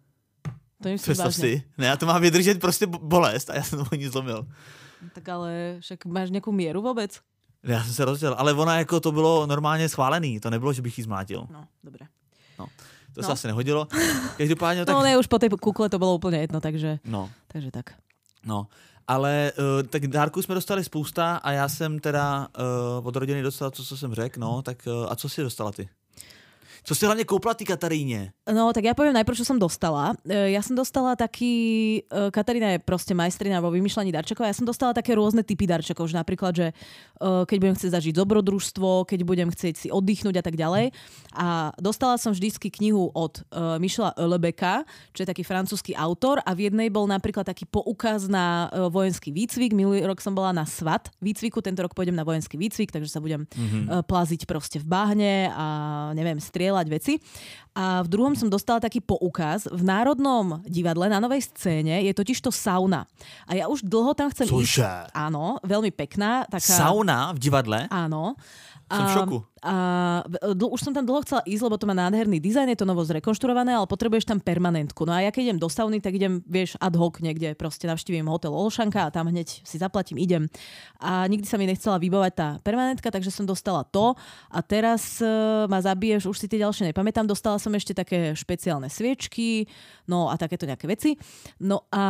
To je představ si. Ne, já to mám vydržet prostě bolest a já jsem to voní zlomil. Tak ale však máš nějakou míru vůbec? Já jsem se rozdělil, ale ona jako to bylo normálně schválený, to nebylo, že bych jí zmlátil. No, dobré. No. To no. se asi nehodilo. Každopádně tak... No ne, už po té kukle to bylo úplně jedno, takže, no. takže tak. No, ale uh, tak dárků jsme dostali spousta a já jsem teda uh, od rodiny dostala to, co jsem řekl, no, tak uh, a co jsi dostala ty? Co si hlavne koupila ty Kataríne? No, tak ja poviem najprv, čo som dostala. Ja som dostala taký... Katarína je proste majstrina vo vymýšľaní darčekov. Ja som dostala také rôzne typy darčekov, že napríklad, že keď budem chcieť zažiť dobrodružstvo, keď budem chcieť si oddychnúť a tak ďalej. A dostala som vždycky knihu od Michela Houellebecqa, čo je taký francúzsky autor a v jednej bol napríklad taký poukaz na vojenský výcvik. Minulý rok som bola na SWAT výcviku, tento rok pôjdem na vojenský výcvik, takže sa budem mm-hmm. plaziť proste v bahne a neviem, strieľať veci. A v druhom som dostala taký poukaz. V Národnom divadle na Novej scéne je totiž to sauna. A ja už dlho tam chcem Cože? ísť. Áno, veľmi pekná. Taká... Sauna v divadle? Áno. Som v šoku. A, a dl- už som tam dlho chcela ísť, lebo to má nádherný dizajn, je to novo zrekonštruované, ale potrebuješ tam permanentku. No a ja keď idem do sauny, tak idem, vieš, ad hoc niekde, proste navštívim hotel Olšanka a tam hneď si zaplatím, idem. A nikdy sa mi nechcela vybavať tá permanentka, takže som dostala to a teraz uh, ma zabiješ, už si tie ďalšie nepamätám, dostala som ešte také špeciálne sviečky, no a takéto nejaké veci. No a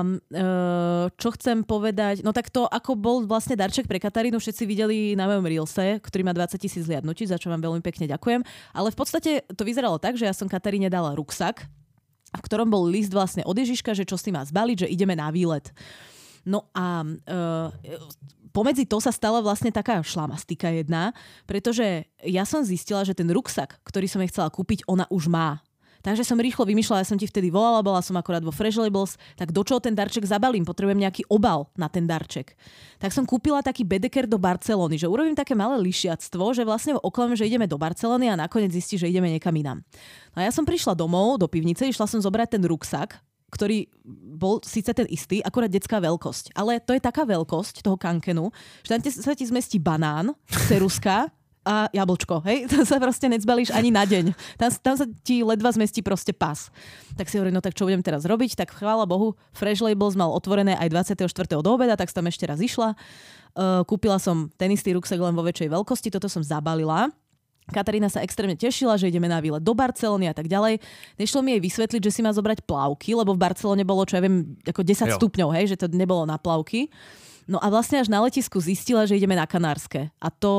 uh, čo chcem povedať, no tak to, ako bol vlastne darček pre Katarínu, všetci videli na mojom Reelse, ktorý má dvadsať tisíc zliadnutí, za čo vám veľmi pekne ďakujem. Ale v podstate to vyzeralo tak, že ja som Kataríne dala ruksak, v ktorom bol list vlastne od Ježiška, že čo si má zbaliť, že ideme na výlet. No a uh, pomedzi to sa stala vlastne taká šlamastika jedna, pretože ja som zistila, že ten ruksak, ktorý som jej chcela kúpiť, ona už má. Takže som rýchlo vymýšľala, ja som ti vtedy volala, bola som akorát vo Fresh Labels, tak do čoho ten darček zabalím? Potrebujem nejaký obal na ten darček. Tak som kúpila taký bedeker do Barcelony, že urobím také malé lišiactvo, že vlastne oklamem, že ideme do Barcelony a nakoniec zistí, že ideme niekam inám. No a ja som prišla domov do pivnice, išla som zobrať ten ruksak ktorý bol síce ten istý, akurát detská veľkosť. Ale to je taká veľkosť toho kankenu, že tam sa ti zmestí banán, ceruska a jablčko, hej? Tam sa proste necbalíš ani na deň. Tam, tam sa ti ledva zmestí proste pas. Tak si hovorím, no tak čo budem teraz robiť? Tak chvála Bohu, Fresh Labels mal otvorené aj dvadsiateho štvrtého do obeda, tak som tam ešte raz išla. Uh, kúpila som ten istý ruksak len vo väčšej veľkosti, toto som zabalila. Katarína sa extrémne tešila, že ideme na výlet do Barcelony a tak ďalej. Nešlo mi jej vysvetliť, že si má zobrať plavky, lebo v Barcelone bolo, čo ja viem, ako desať jo. stupňov, hej, že to nebolo na plavky. No a vlastne až na letisku zistila, že ideme na Kanárske. A to,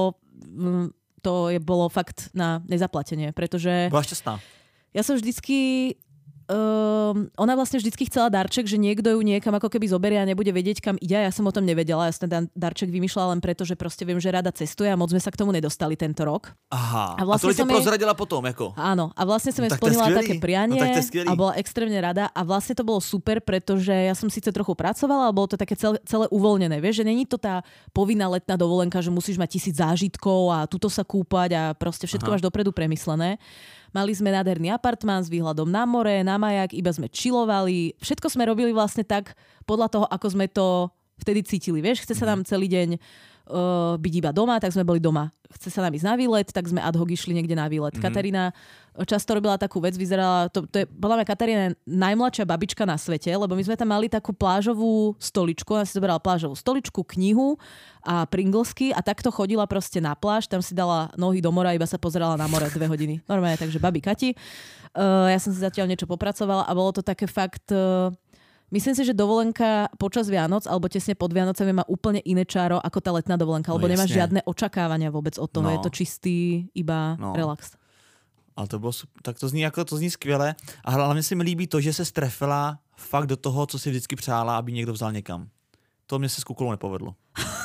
to je bolo fakt na nezaplatenie, pretože... Bola šťastná. Ja som vždycky... Um, ona vlastne vždycky chcela darček, že niekto ju niekam ako keby zoberie a nebude vedieť, kam ide. Ja som o tom nevedela. Ja som ten darček vymýšľala len preto, že proste viem, že rada cestuje a moc sme sa k tomu nedostali tento rok. Aha. A, vlastne a to ti prozradila jej... potom, ako? Áno. A vlastne som jej no, splnila také prianie no, a bola extrémne rada. A vlastne to bolo super, pretože ja som síce trochu pracovala, ale bolo to také celé, celé uvoľnené. Vieš, že není to tá povinná letná dovolenka, že musíš mať tisíc zážitkov a tuto sa kúpať a proste všetko Aha. máš dopredu premyslené. Mali sme nádherný apartmán s výhľadom na more, na majak, iba sme chillovali. Všetko sme robili vlastne tak podľa toho, ako sme to vtedy cítili. Vieš, chce sa nám celý deň uh, byť iba doma, tak sme boli doma. Chce sa nám ísť na výlet, tak sme ad hoc išli niekde na výlet. Mm-hmm. Katarína často robila takú vec, vyzerala, to, to je podľa mňa Katarína najmladšia babička na svete, lebo my sme tam mali takú plážovú stoličku, ona si zoberala plážovú stoličku, knihu a Pringlesky a takto chodila proste na pláž, tam si dala nohy do mora, iba sa pozerala na more dve hodiny. Normálne, takže babi Kati. Uh, ja som si zatiaľ niečo popracovala a bolo to také fakt... Uh, Myslím si, že dovolenka počas Vianoc alebo tesne pod Vianocami má úplne iné čáro ako tá letná dovolenka, lebo no, nemáš žiadne očakávania vôbec od toho. No. Je to čistý iba no. relax. Ale to bylo, tak to zní, jako, to zní skvěle. A hlavně se mi líbí to, že se strefila fakt do toho, co si vždycky přála, aby někdo vzal někam. To mě se s kukulou nepovedlo.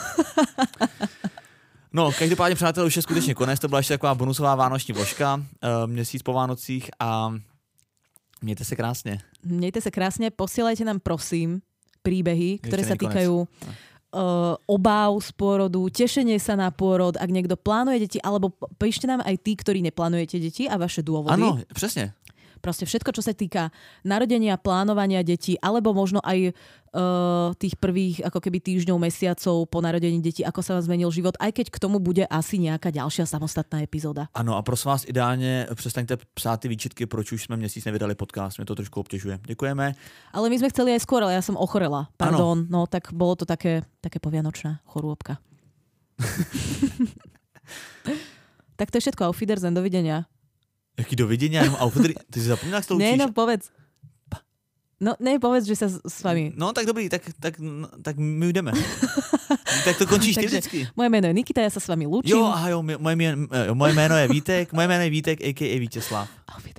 No, každopádně, přátelé, už je skutečně konec. To byla ještě taková bonusová vánoční vložka, měsíc po Vánocích a mějte se krásně. Mějte se krásně, posílajte nám prosím príbehy, ktoré sa týkajú uh, obáv z pôrodu, tešenie sa na pôrod, ak niekto plánuje deti, alebo píšte nám aj tí, ktorí neplánujete deti a vaše dôvody. Áno, presne. Proste všetko, čo sa týka narodenia, plánovania detí, alebo možno aj uh, tých prvých ako keby týždňov, mesiacov po narodení detí, ako sa vám zmenil život, aj keď k tomu bude asi nejaká ďalšia samostatná epizóda. Ano, a prosím vás, ideálně přestaňte psát ty výčitky, proč už jsme měsíc nevydali podcast, mě to trošku obtěžuje. Děkujeme. Ale my sme chceli aj skôr, ale ja som ochorela. Pardon, ano. No tak bolo to také, také povianočná chorôbka. Tak to je všetko. Auf Wiedersehen, dovidenia. Jaký dovidenia? Ty si zapomínal, jak to učíš? Ne, no povedz. No ne, povedz, že sa s, s vami... No tak dobrý, tak, tak, tak my jdeme. Tak to končíš ty vždycky. Moje jméno je Nikita, ja sa s vami lúčim. Jo, aha jo, moje, moje, moje jméno je Vítek, moje jméno je Vítek, a ká a Vítězslav.